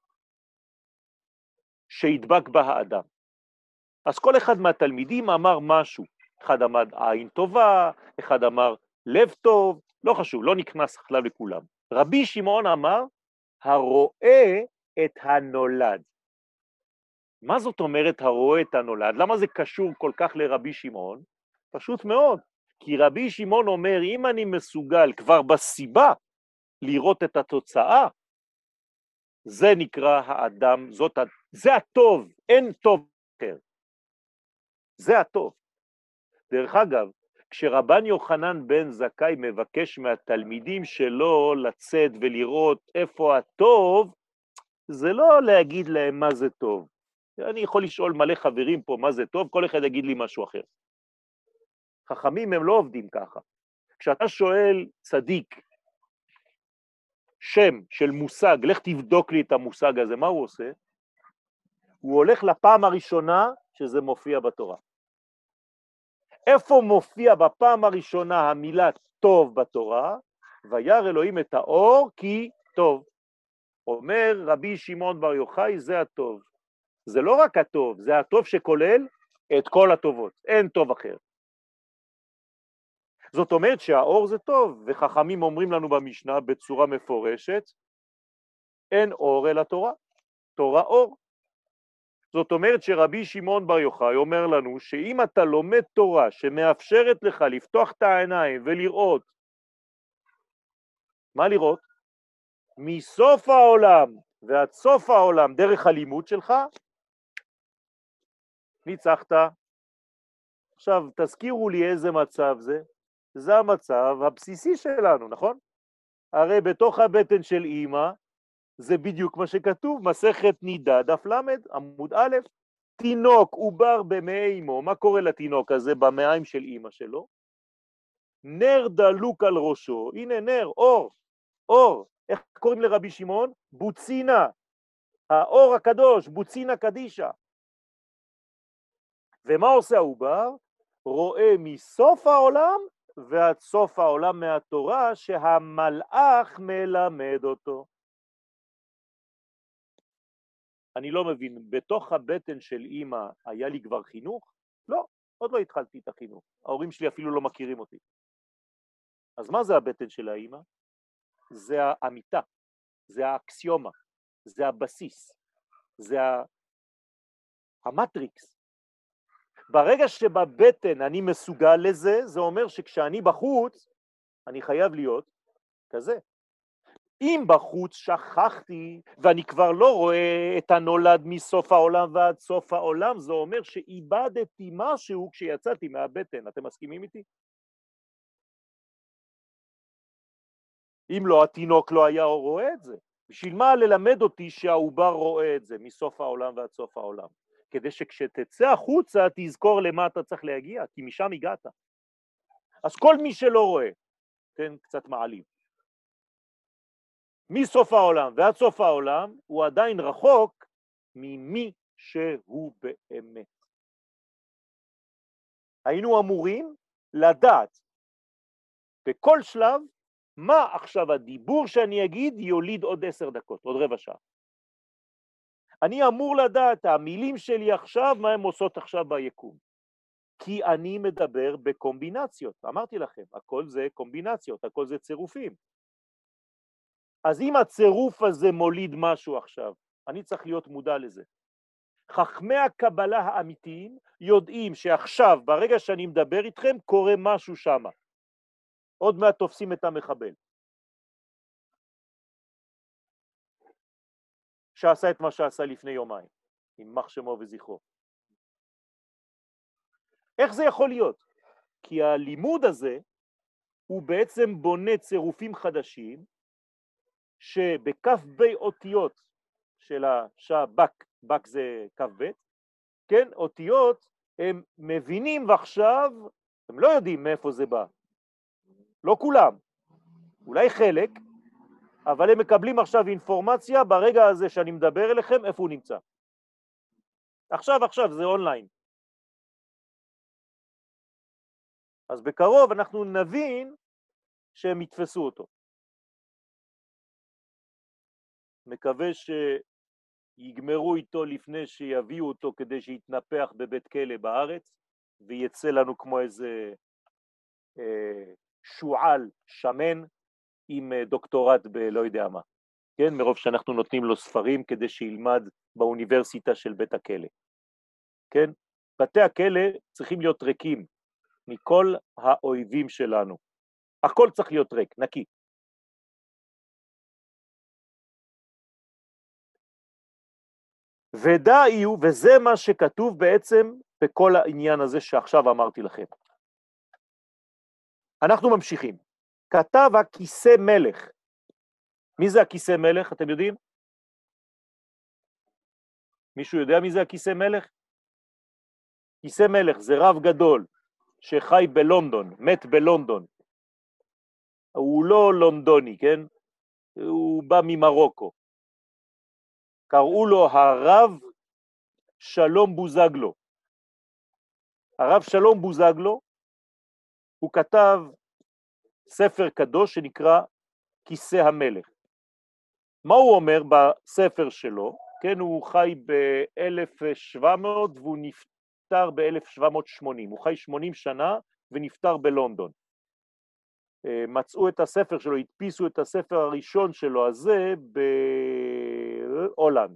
שידבק בה האדם. אז כל אחד מהתלמידים אמר משהו, אחד אמר עין טובה, אחד אמר לב טוב, לא חשוב, לא נכנס עכשיו לכולם. רבי שמעון אמר, הרואה את הנולד. מה זאת אומרת הרואה את הנולד? למה זה קשור כל כך לרבי שמעון? פשוט מאוד, כי רבי שמעון אומר, אם אני מסוגל כבר בסיבה לראות את התוצאה, זה נקרא האדם, זה הטוב, אין טוב אחר. זה הטוב. דרך אגב, כשרבן יוחנן בן זכאי מבקש מהתלמידים שלו לצאת ולראות איפה הטוב, זה לא להגיד להם מה זה טוב. אני יכול לשאול מלא חברים פה מה זה טוב, כל אחד יגיד לי משהו אחר. חכמים הם לא עובדים ככה. כשאתה שואל צדיק, שם של מושג, לך תבדוק לי את המושג הזה, מה הוא עושה? הוא הולך לפעם הראשונה שזה מופיע בתורה. איפה מופיע בפעם הראשונה המילה טוב בתורה? וירא אלוהים את האור כי טוב. אומר רבי שמעון בר יוחאי, זה הטוב. זה לא רק הטוב, זה הטוב שכולל את כל הטובות, אין טוב אחר. זאת אומרת שהאור זה טוב, וחכמים אומרים לנו במשנה בצורה מפורשת, אין אור אלא תורה, תורה אור. זאת אומרת שרבי שמעון בר יוחאי אומר לנו שאם אתה לומד תורה שמאפשרת לך לפתוח את העיניים ולראות, מה לראות? מסוף העולם ועד סוף העולם דרך הלימוד שלך, ניצחת. עכשיו תזכירו לי איזה מצב זה, זה המצב הבסיסי שלנו, נכון? הרי בתוך הבטן של אמא, זה בדיוק מה שכתוב, מסכת נידה, דף למד, עמוד א', תינוק עובר במעי אמו, מה קורה לתינוק הזה במעיים של אמא שלו? נר דלוק על ראשו, הנה נר, אור, אור, איך קוראים לרבי שמעון? בוצינה, האור הקדוש, בוצינה קדישה. ומה עושה העובר? רואה מסוף העולם ועד סוף העולם מהתורה שהמלאך מלמד אותו. אני לא מבין, בתוך הבטן של אמא היה לי כבר חינוך? לא, עוד לא התחלתי את החינוך. ההורים שלי אפילו לא מכירים אותי. אז מה זה הבטן של האמא? זה האמיתה, זה האקסיומה, זה הבסיס, זה המטריקס. ברגע שבבטן אני מסוגל לזה, זה אומר שכשאני בחוץ, אני חייב להיות כזה. אם בחוץ שכחתי ואני כבר לא רואה את הנולד מסוף העולם ועד סוף העולם, זה אומר שאיבדתי משהו כשיצאתי מהבטן. אתם מסכימים איתי? אם לא, התינוק לא היה רואה את זה. בשביל מה ללמד אותי שהעובר רואה את זה מסוף העולם ועד סוף העולם? כדי שכשתצא החוצה תזכור למה אתה צריך להגיע, כי משם הגעת. אז כל מי שלא רואה, כן, קצת מעליב. מסוף העולם ועד סוף העולם הוא עדיין רחוק ממי שהוא באמת. היינו אמורים לדעת בכל שלב מה עכשיו הדיבור שאני אגיד יוליד עוד 10 דקות, עוד רבע שעה. אני אמור לדעת המילים שלי עכשיו מה הן עושות עכשיו ביקום. כי אני מדבר בקומבינציות, אמרתי לכם, הכל זה קומבינציות, הכל זה צירופים. אז אם הצירוף הזה מוליד משהו עכשיו, אני צריך להיות מודע לזה. חכמי הקבלה האמיתיים יודעים שעכשיו, ברגע שאני מדבר איתכם, קורה משהו שם. עוד מעט תופסים את המחבל. שעשה את מה שעשה לפני יומיים, עם מח שמו וזכרו. איך זה יכול להיות? כי הלימוד הזה הוא בעצם בונה צירופים חדשים, שבכף בי אותיות של השבק, בק זה כף בית, כן, אותיות, הם מבינים ועכשיו, הם לא יודעים מאיפה זה בא. לא כולם, אולי חלק, אבל הם מקבלים עכשיו אינפורמציה ברגע הזה שאני מדבר אליכם, איפה הוא נמצא. עכשיו, זה אונליין. אז בקרוב אנחנו נבין שהם יתפסו אותו. מקווה שיגמרו איתו לפני שיביאו אותו כדי שיתנפח בבית כלא בארץ, ויצא לנו כמו איזה שועל שמן עם דוקטורט בלא יודע מה. כן, מרוב שאנחנו נותנים לו ספרים כדי שילמד באוניברסיטה של בית הכלא. כן, בתי הכלא צריכים להיות ריקים מכל האויבים שלנו. הכל צריך להיות ריק, נקי. ודאיו, וזה מה שכתוב בעצם בכל העניין הזה שעכשיו אמרתי לכם. אנחנו ממשיכים. כתב הכיסא מלך. מי זה הכיסא מלך, אתם יודעים? מישהו יודע מי זה הכיסא מלך? כיסא מלך זה רב גדול שחי בלונדון, מת בלונדון. הוא לא לונדוני, כן? הוא בא ממרוקו. קראו לו הרב שלום בוזגלו. הרב שלום בוזגלו, הוא כתב ספר קדוש שנקרא כיסא המלך. מה הוא אומר בספר שלו? כן, הוא חי ב-1700 והוא נפטר נפטר ב-1780, הוא חי 80 שנה ונפטר בלונדון. מצאו את הספר שלו, הדפיסו את הספר הראשון שלו הזה בהולנד.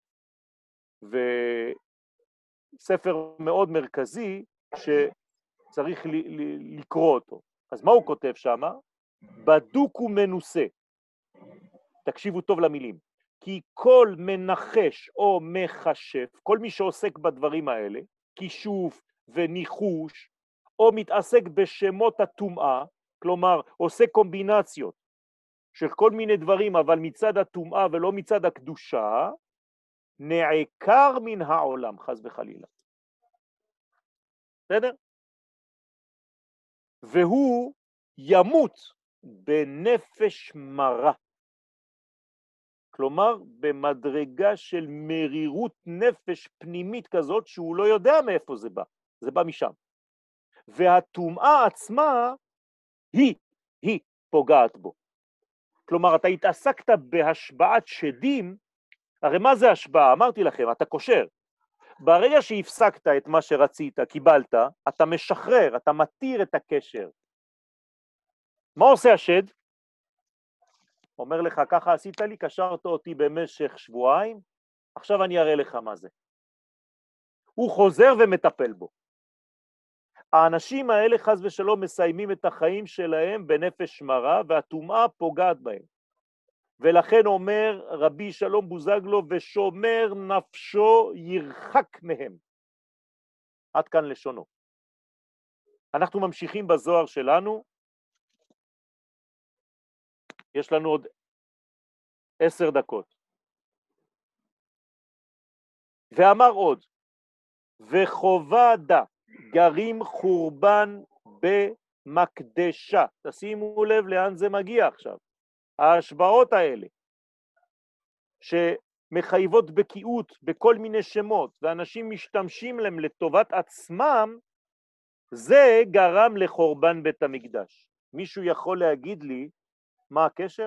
וספר מאוד מרכזי שצריך לקרוא אותו. אז מה הוא כותב שם? בדוק ומנוסה. תקשיבו טוב למילים. כי כל מנחש או מחשף, כל מי שעוסק בדברים האלה, כישוף וניחוש, או מתעסק בשמות הטומאה, כלומר עושה קומבינציות של כל מיני דברים, אבל מצד הטומאה ולא מצד הקדושה, נעקר מן העולם, חס וחלילה. בסדר? והוא ימות בנפש מרה. כלומר, במדרגה של מרירות נפש פנימית כזאת, שהוא לא יודע מאיפה זה בא. זה בא משם. והטומאה עצמה, היא פוגעת בו. כלומר, אתה התעסקת בהשבעת שדים, הרי מה זה השבעה? אמרתי לכם, אתה קושר. ברגע שהפסקת את מה שרצית, קיבלת, אתה משחרר, אתה מתיר את הקשר. מה עושה השד? אומר לך, ככה עשית לי, קשרת אותי במשך שבועיים, עכשיו אני אראה לך מה זה. הוא חוזר ומטפל בו. האנשים האלה חס ושלום מסיימים את החיים שלהם בנפש מרה, והטומאה פוגעת בהם. ולכן אומר רבי שלום בוזגלו, ושומר נפשו ירחק מהם. עד כאן לשונו. אנחנו ממשיכים בזוהר שלנו. יש לנו עוד 10 דקות. ואמר עוד, וחובדה גרים חורבן במקדשה. תשימו לב לאן זה מגיע עכשיו. ההשבעות האלה, שמחייבות בקיאות בכל מיני שמות, ואנשים משתמשים להם לטובת עצמם, זה גרם לחורבן בית המקדש. מישהו יכול להגיד לי מה הקשר?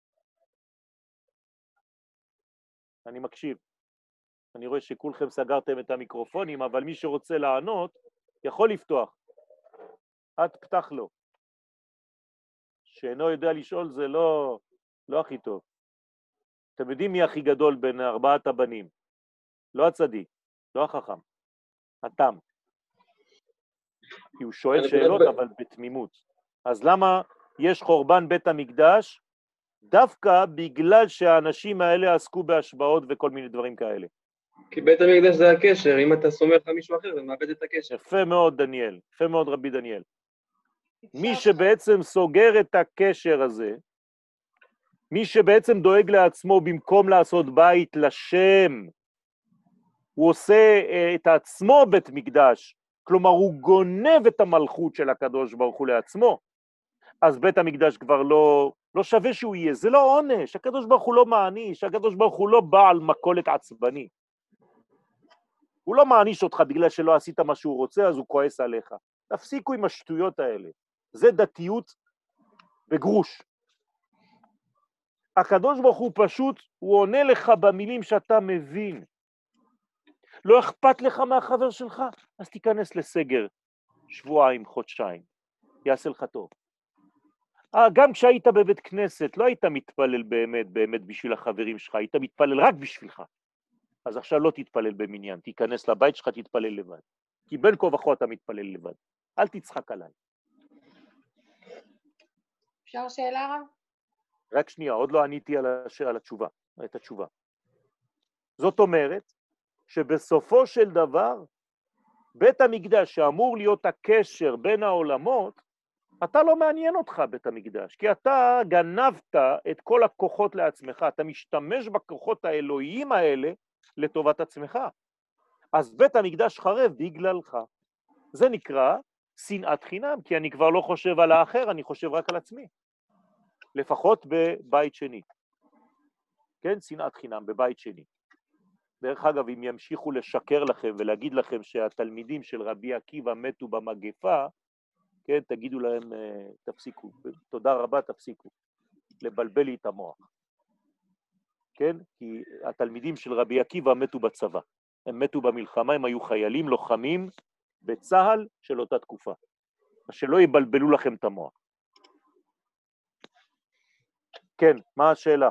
אני מקשיב. אני רואה שכולכם סגרתם את המיקרופונים, אבל מי שרוצה לענות יכול לפתוח. את פתח לו. שאינו יודע לשאול זה לא הכי טוב. אתם יודעים מי הכי גדול בין 4 הבנים? לא הצדיק, לא החכם, התם. כי הוא שואל שאלות אבל בתמימות. אז למה יש חורבן בית המקדש? דווקא בגלל שהאנשים האלה עסקו בהשבעות וכל מיני דברים כאלה. כי בית המקדש זה הקשר, אם אתה סומך על מישהו אחר, זה מאבד את הקשר. יפה מאוד דניאל, יפה מאוד רבי דניאל. מי שבעצם סוגר את הקשר הזה, מי שבעצם דואג לעצמו במקום לעשות בית לשם, הוא עושה את עצמו בית מקדש, כלומר הוא גונב את המלכות של הקדוש ברוך הוא לעצמו, אז בית המקדש כבר לא שווה שהוא יהיה, זה לא עונש, הקדוש ברוך הוא לא מעניש, הקדוש ברוך הוא לא בעל מכולת עצבני. הוא לא מעניש אותך בגלל שלא עשית מה שהוא רוצה, אז הוא כועס עליך. תפסיקו עם השטויות האלה. זה דתיות בגרוש. הקדוש ברוך הוא פשוט, הוא עונה לך במילים שאתה מבין. לא אכפת לך מהחבר שלך, אז תיכנס לסגר, שבועיים, חודשיים. יעשה לך טוב. גם כשהיית בבית כנסת, לא היית מתפלל באמת בשביל החברים שלך, היית מתפלל רק בשבילך. אז עכשיו לא תתפלל במניין, תיכנס לבית שלך, תתפלל לבד. כי בין כה וכה אתה מתפלל לבד. אל תצחק עליי. אפשר שאלה רב? רק שנייה, עוד לא עניתי על התשובה, את התשובה. זאת אומרת שבסופו של דבר, בית המקדש שאמור להיות הקשר בין העולמות, אתה לא מעניין אותך בית המקדש, כי אתה גנבת את כל הכוחות לעצמך, אתה משתמש בכוחות האלוהיים האלה לטובת עצמך. אז בית המקדש חרב בגללך. זה נקרא שנאת חינם, כי אני כבר לא חושב על האחר, אני חושב רק על עצמי. לפחות בבית שני. כן, שנאת חינם בבית שני. דרך אגב, אם ימשיכו לשקר לכם ולהגיד לכם שהתלמידים של רבי עקיבא מתו במגפה, כן, תגידו להם, תפסיקו, תודה רבה, תפסיקו, לבלבל לי את המוח. כן, כי התלמידים של רבי עקיבא מתו בצבא. הם מתו במלחמה, הם היו חיילים לוחמים בצהל של אותה תקופה. אז שלא יבלבלו לכם את המוח. כן, מה השאלה?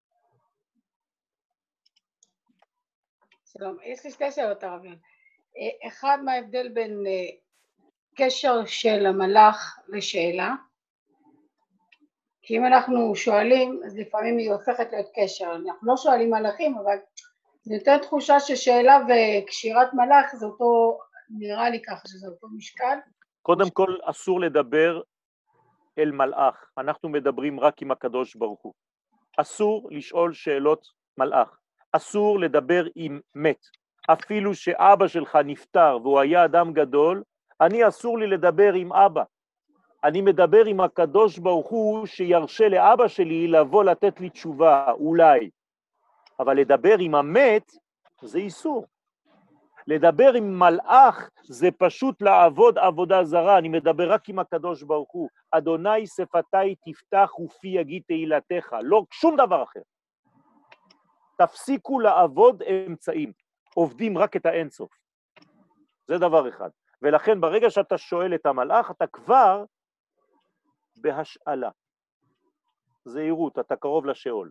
שלום, יש לי שתי שאלות הרבים. אחד, מה ההבדל בין קשר של המלאך לשאלה? כי אם אנחנו שואלים, אז לפעמים היא הופכת להיות קשר. אנחנו לא שואלים מלאכים, אבל זה יותר תחושה ששאלה וקשירת מלאך זה אותו, נראה לי ככה שזה אותו משקל. קודם כל אסור לדבר אל מלאך, אנחנו מדברים רק עם הקדוש ברוך הוא. אסור לשאול שאלות מלאך, אסור לדבר עם מת. אפילו שאבא שלך נפטר והוא היה אדם גדול, אני אסור לי לדבר עם אבא. אני מדבר עם הקדוש ברוך הוא שירשה לאבא שלי לבוא לתת לי תשובה, אולי. אבל לדבר עם המת זה איסור. לדבר עם מלאך זה פשוט לעבוד עבודה זרה, אני מדבר רק עם הקדוש ברוך הוא. אדוני שפתי תפתח ופי יגיד תהילתך, לא שום דבר אחר. תפסיקו לעבוד אמצעים, עובדים רק את האינסוף. זה דבר אחד. ולכן ברגע שאתה שואל את המלאך, אתה כבר בהשאלה. זהירות, אתה קרוב לשאול.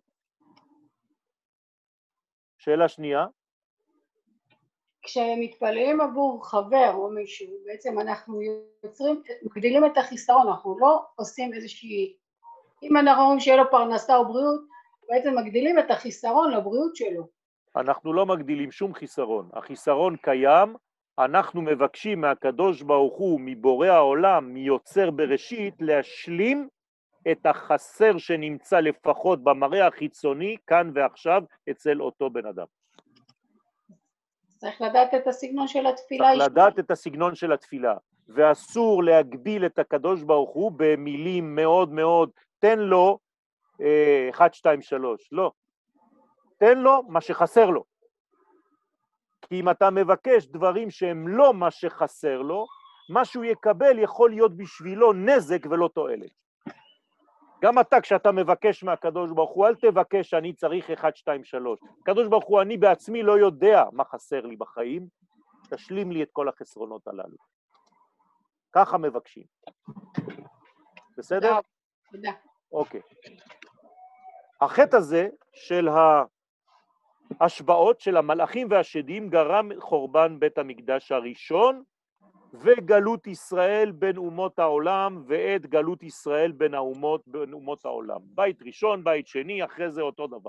שאלה שנייה. כשמתפללים עבור חבר או מישהו, בעצם אנחנו מגדילים את החיסרון, אנחנו לא עושים איזושהי, אם אנחנו אומרים שיהיה לו פרנסה או בריאות, בעצם מגדילים את החיסרון לבריאות שלו. אנחנו לא מגדילים שום חיסרון, החיסרון קיים, אנחנו מבקשים מהקדוש ברוך הוא, מבורא העולם, מיוצר בראשית, להשלים את החסר שנמצא לפחות במראה החיצוני, כאן ועכשיו, אצל אותו בן אדם. צריך לדעת את הסגנון של התפילה. צריך לדעת את הסגנון של התפילה, ואסור להגביל את הקדוש ברוך הוא במילים מאוד מאוד, תן לו 1, 2, 3, לא. תן לו מה שחסר לו. כי אם אתה מבקש דברים שהם לא מה שחסר לו, מה שהוא יקבל יכול להיות בשבילו נזק ולא תועלת. גם אתה, כשאתה מבקש מהקדוש ברוך הוא, אל תבקש שאני צריך 1, 2, 3. הקדוש ברוך הוא, אני בעצמי לא יודע מה חסר לי בחיים, תשלים לי את כל החסרונות הללו. ככה מבקשים. בסדר? תודה. אוקיי. החטא הזה של ההשבעות של המלאכים והשדים גרם חורבן בית המקדש הראשון, וגלות ישראל בין אומות העולם, ואת גלות ישראל בין אומות העולם. בית ראשון, בית שני, אחרי זה אותו דבר.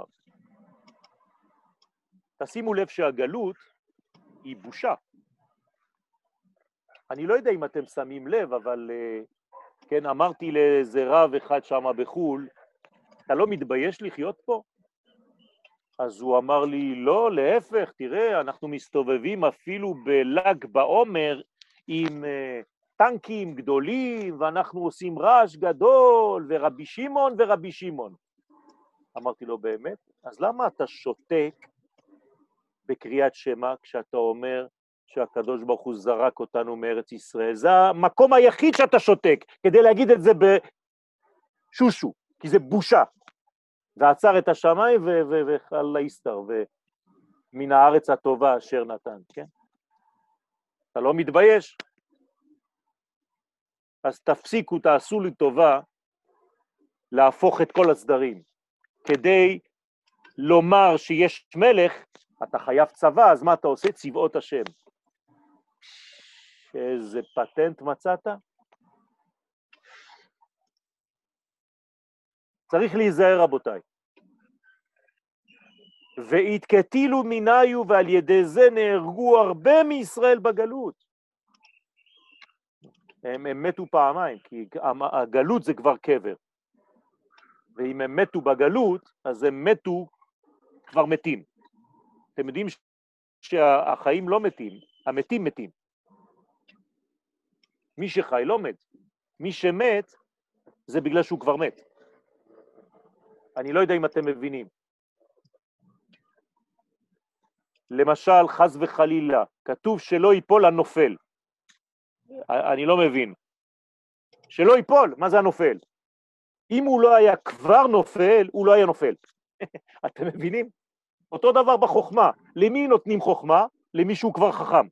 תשימו לב שהגלות היא בושה. אני לא יודע אם אתם שמים לב, אבל כן, אמרתי לאיזה רב אחד שם בחול, אתה לא מתבייש לחיות פה? אז הוא אמר לי, לא, להפך, תראה, אנחנו מסתובבים אפילו בל"ג בעומר עם טנקים גדולים, ואנחנו עושים רעש גדול, ורבי שמעון ורבי שמעון. אמרתי לו, באמת? אז למה אתה שותק בקריאת שמע כשאתה אומר שהקדוש ברוך הוא זרק אותנו מארץ ישראל? זה המקום היחיד שאתה שותק, כדי להגיד את זה בשושו, כי זה בושה. ועצר את השמיים וחל להסתר, ומן הארץ הטובה אשר נתן, כן? אתה לא מתבייש? אז תפסיקו, תעשו לי טובה להפוך את כל הסדרים. כדי לומר שיש מלך, אתה חייב צבא, אז מה אתה עושה? צבאות השם. איזה פטנט מצאת? צריך להיזהר רבותיי. והתקטילו מיניו, ועל ידי זה נהרגו הרבה מישראל בגלות. הם מתו פעמיים, כי הגלות זה כבר קבר. ואם הם מתו בגלות, אז הם מתו כבר מתים. אתם יודעים שהחיים לא מתים, המתים מתים. מי שחי לא מת. מי שמת זה בגלל שהוא כבר מת. אני לא יודע אם אתם מבינים. למשל, חס וחלילה, כתוב שלא ייפול הנופל. אני לא מבין. שלא ייפול, מה זה הנופל? אם הוא לא היה כבר נופל, הוא לא היה נופל. אתם מבינים? אותו דבר בחוכמה. למי נותנים חוכמה? למישהו כבר חכם.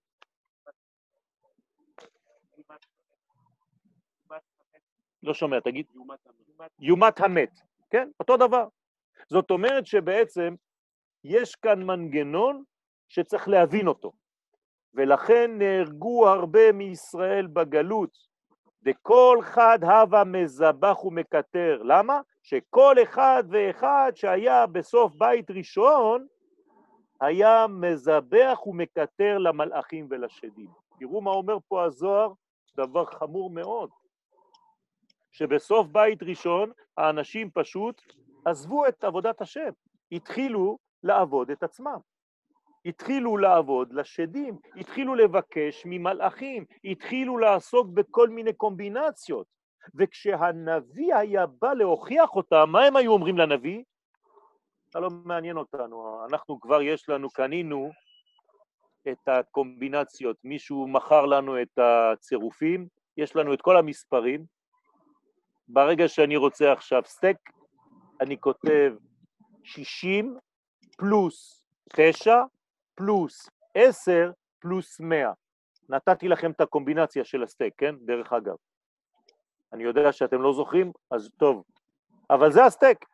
לא שומע, תגיד. יומת המת, כן? אותו דבר. זאת אומרת שבעצם יש כאן מנגנון שצריך להבין אותו, ולכן נהרגו הרבה מישראל בגלות, וכל חד הווה מזבח ומקטר. למה? שכל אחד ואחד שהיה בסוף בית ראשון, היה מזבח ומקטר למלאכים ולשדים. תראו מה אומר פה הזוהר, דבר חמור מאוד, שבסוף בית ראשון האנשים פשוט עזבו את עבודת השם, התחילו לעבוד את עצמם, התחילו לעבוד לשדים, התחילו לבקש ממלאכים, התחילו לעסוק בכל מיני קומבינציות, וכשהנביא היה בא להוכיח אותם, מה הם היו אומרים לנביא? זה לא מעניין אותנו, אנחנו כבר יש לנו, קנינו את הקומבינציות, מישהו מכר לנו את הצירופים, יש לנו את כל המספרים, ברגע שאני רוצה עכשיו סטייק, אני כותב 60 פלוס 9 פלוס 10 פלוס 100. נתתי לכם את הקומבינציה של הסטייק, כן? דרך אגב. אני יודע שאתם לא זוכרים, אז טוב. אבל זה הסטייק.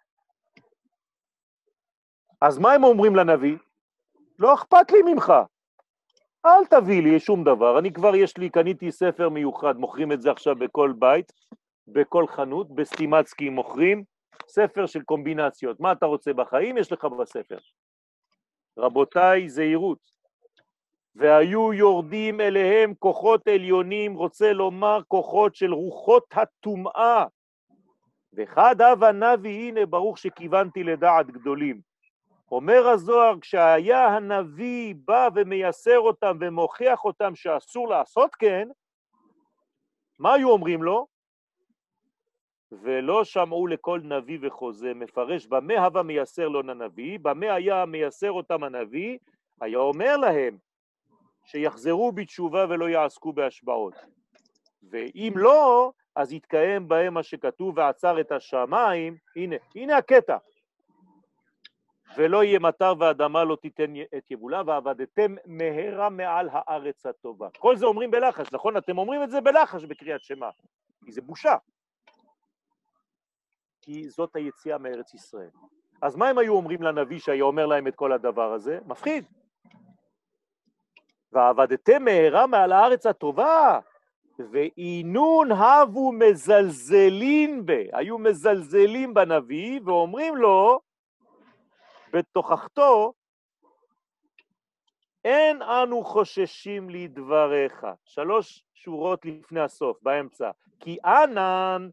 אז מה הם אומרים לנביא? לא אכפת לי ממך. אל תביא לי שום דבר. אני כבר קניתי ספר מיוחד, מוכרים את זה עכשיו בכל בית, בכל חנות, בסטימצקי מוכרים, ספר של קומבינציות. מה אתה רוצה בחיים? יש לך בספר. רבותיי, זהירות. והיו יורדים אליהם כוחות עליונים, רוצה לומר כוחות של רוחות הטומאה. וחד הווה נביא, הנה ברוך שכיוונתי לדעת גדולים. אומר הזוהר, כשהיה הנביא בא ומייסר אותם ומוכיח אותם שאסור לעשות כן, מה היו אומרים לו? ולא שמעו לכל נביא וחוזה, מפרש, במה הווה מייסר לו הנביא, במה היה מייסר אותם הנביא, היה אומר להם שיחזרו בתשובה ולא יעסקו בהשבעות. ואם לא, אז יתקיים בהם מה שכתוב, ועצר את השמיים, הנה הקטע. ולא יהיה מטר ואדמה לא תיתן את יבולה, ועבדתם מהרה מעל הארץ הטובה. כל זה אומרים בלחש, נכון? אתם אומרים את זה בלחש בקריאת שמע, כי זה בושה. כי זאת היציאה מארץ ישראל. אז מה הם היו אומרים לנביא שהיה אומר להם את כל הדבר הזה? מפחיד. ועבדתם מהרה מעל הארץ הטובה, ואינון הבו מזלזלין בה. היו מזלזלים בנביא ואומרים לו, בתוכחתו, אין אנו חוששים לדבריך. 3 שורות לפני הסוף, באמצע. כי אנן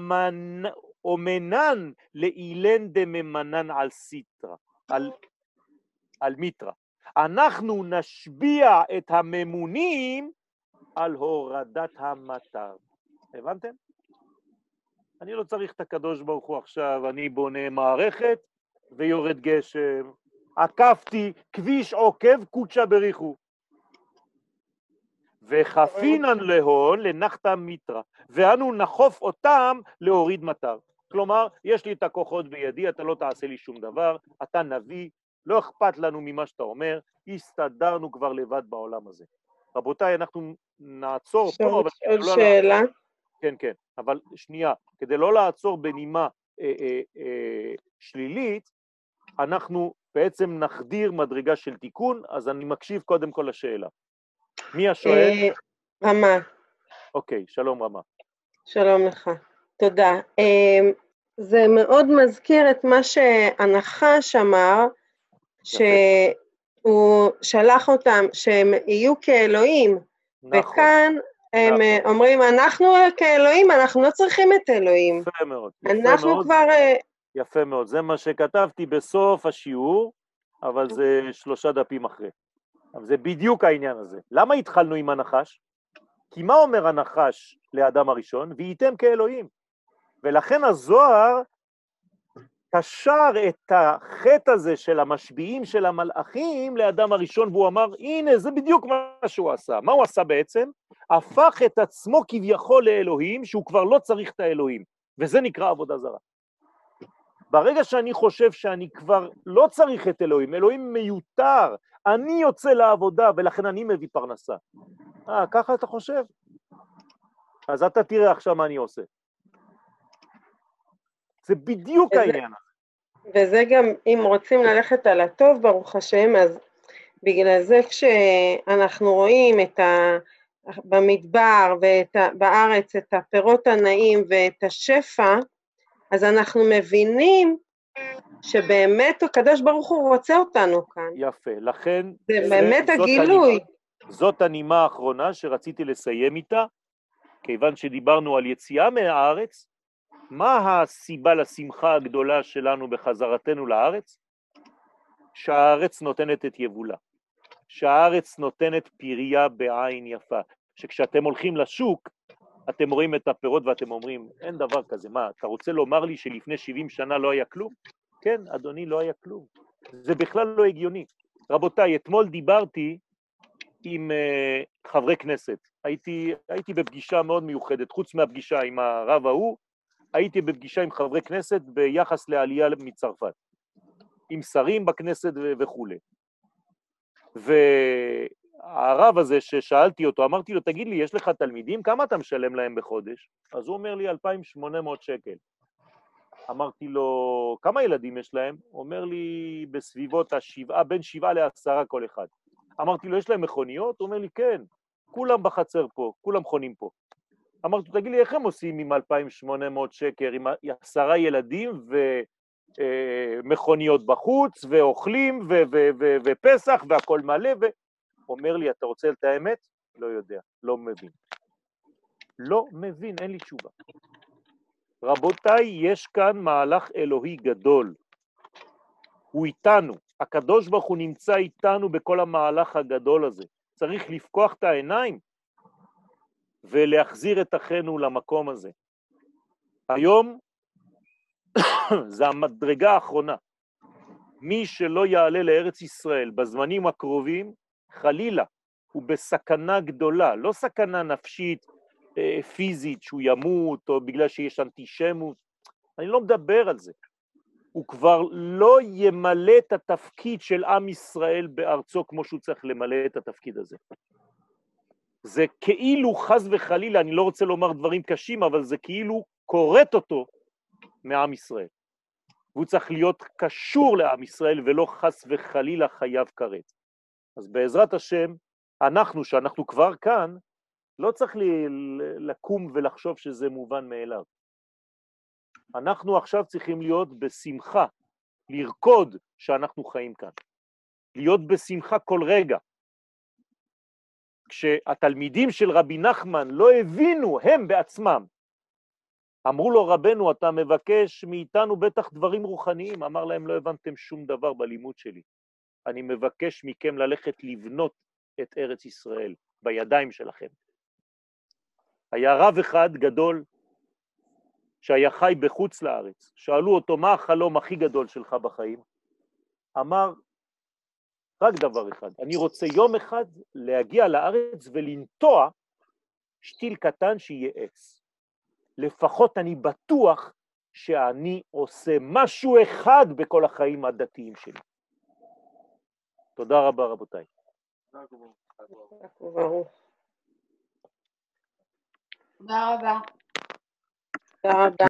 אומנן לאילן דממנן על סיטרה, על מיטרה. אנחנו נשביע את הממונים על הורדת המטר. הבנתם? אני לא צריך את הקדוש ברוך הוא עכשיו, אני בונה מערכת ויורד גשם, עקפתי כביש עוקב קודשה בריחו. וחפינן להון לנחתה מיטרה, ואנו נחוף אותם להוריד מטר. כלומר, יש לי את הכוחות בידי, אתה לא תעשה לי שום דבר, אתה נביא, לא אכפת לנו ממה שאתה אומר, הסתדרנו כבר לבד בעולם הזה. רבותיי, אנחנו נעצור פה. עוד שאלה? כן, כן, אבל שנייה, כדי לא לעצור בנימה שלילית, אנחנו בעצם נחדיר מדרגה של תיקון, אז אני מקשיב קודם כל לשאלה. מי השואל? רמה. אוקיי, שלום רמה. שלום לך, תודה. זה מאוד מזכיר את מה שהנחש אמר, שהוא שלח אותם שהם יהיו כאלוהים, וכאן הם אומרים, אנחנו כאלוהים, אנחנו לא צריכים את אלוהים. יפה מאוד. אנחנו כבר... יפה מאוד, זה מה שכתבתי בסוף השיעור, אבל זה 3 דפים אחרי. אבל זה בדיוק העניין הזה. למה התחלנו עם הנחש? כי מה אומר הנחש לאדם הראשון? והייתם כאלוהים. ולכן הזוהר קשר את החטא הזה של המשביעים של המלאכים לאדם הראשון, והוא אמר, הנה, זה בדיוק מה שהוא עשה. מה הוא עשה בעצם? הפך את עצמו כביכול לאלוהים, שהוא כבר לא צריך את האלוהים. וזה נקרא עבודה זרה. ברגע שאני חושב שאני כבר לא צריך את אלוהים, אלוהים מיותר, אני יוצא לעבודה ולכן אני מביא פרנסה. ככה אתה חושב? אז אתה תראה עכשיו מה אני עושה. זה בדיוק העניין. וזה גם, אם רוצים ללכת על הטוב, ברוך השם, אז בגלל זה כשאנחנו רואים במדבר ובארץ את הפירות הנעים ואת השפע, אז אנחנו מבינים שבאמת הקדוש ברוך הוא רוצה אותנו כאן. יפה, לכן זה באמת הגילוי. זאת הנימה האחרונה שרציתי לסיים איתה, כיוון שדיברנו על יציאה מהארץ. מה הסיבה לשמחה הגדולה שלנו בחזרתנו לארץ? שהארץ נותנת את יבולה, שהארץ נותנת פריה בעין יפה, שכשאתם הולכים לשוק, אתם רואים את הפירות ואתם אומרים, אין דבר כזה, מה, אתה רוצה לומר לי שלפני 70 שנה לא היה כלום? כן, אדוני, לא היה כלום. זה בכלל לא הגיוני. רבותיי, אתמול דיברתי עם חברי כנסת, הייתי בפגישה מאוד מיוחדת, חוץ מהפגישה עם הרב ההוא, הייתי בפגישה עם חברי כנסת ביחס לעלייה מצרפת, עם שרים בכנסת וכו'. והרב הזה ששאלתי אותו, אמרתי לו, תגיד לי, יש לך תלמידים? כמה אתה משלם להם בחודש? אז הוא אומר לי, 2,800 שקל. אמרתי לו, כמה ילדים יש להם? הוא אומר לי, בסביבות בין 7 ל10 כל אחד. אמרתי לו, יש להם מכוניות? הוא אומר לי, כן, כולם בחצר פה, כולם חונים פה. אמרתי לו, תגיד לי, איך הם עושים עם 2,800 שקל, עם 10 ילדים ומכוניות בחוץ, ואוכלים, ופסח, והכל מלא, אומר לי, אתה רוצה את האמת? לא יודע, לא מבין. לא מבין, אין לי תשובה. רבותיי, יש כאן מהלך אלוהי גדול. הוא איתנו, הקדוש ברוך הוא נמצא איתנו בכל המהלך הגדול הזה. צריך לפקוח את העיניים ולהחזיר את אחינו למקום הזה. היום זה המדרגה האחרונה. מי שלא יעלה לארץ ישראל בזמנים הקרובים, חלילה, הוא בסכנה גדולה, לא סכנה נפשית, פיזית, שהוא ימות, או בגלל שיש אנטישמות. אני לא מדבר על זה. הוא כבר לא ימלא את התפקיד של עם ישראל בארצו כמו שהוא צריך למלא את התפקיד הזה. זה כאילו חס וחלילה, אני לא רוצה לומר דברים קשים, אבל זה כאילו קורט אותו מעם ישראל. והוא צריך להיות קשור לעם ישראל ולא חס וחלילה חייב קראת. אז בעזרת השם, שאנחנו כבר כאן, לא צריך לקום ולחשוב שזה מובן מאליו. אנחנו עכשיו צריכים להיות בשמחה, לרקוד שאנחנו חיים כאן. להיות בשמחה כל רגע. כשהתלמידים של רבי נחמן לא הבינו הם בעצמם, אמרו לו רבנו, אתה מבקש מאיתנו בטח דברים רוחניים, אמר להם, לא הבנתם שום דבר בלימוד שלי. אני מבקש מכם ללכת לבנות את ארץ ישראל בידיים שלכם. היה רב אחד גדול שהיה חי בחוץ לארץ, שאלו אותו מה החלום הכי גדול שלך בחיים? אמר רק דבר אחד, אני רוצה יום אחד להגיע לארץ ולנטוע שתיל קטן שיהיה עץ. לפחות אני בטוח שאני עושה משהו אחד בכל החיים הדתיים שלי. תודה רבה רבותיי. תודה רבה. תודה רבה.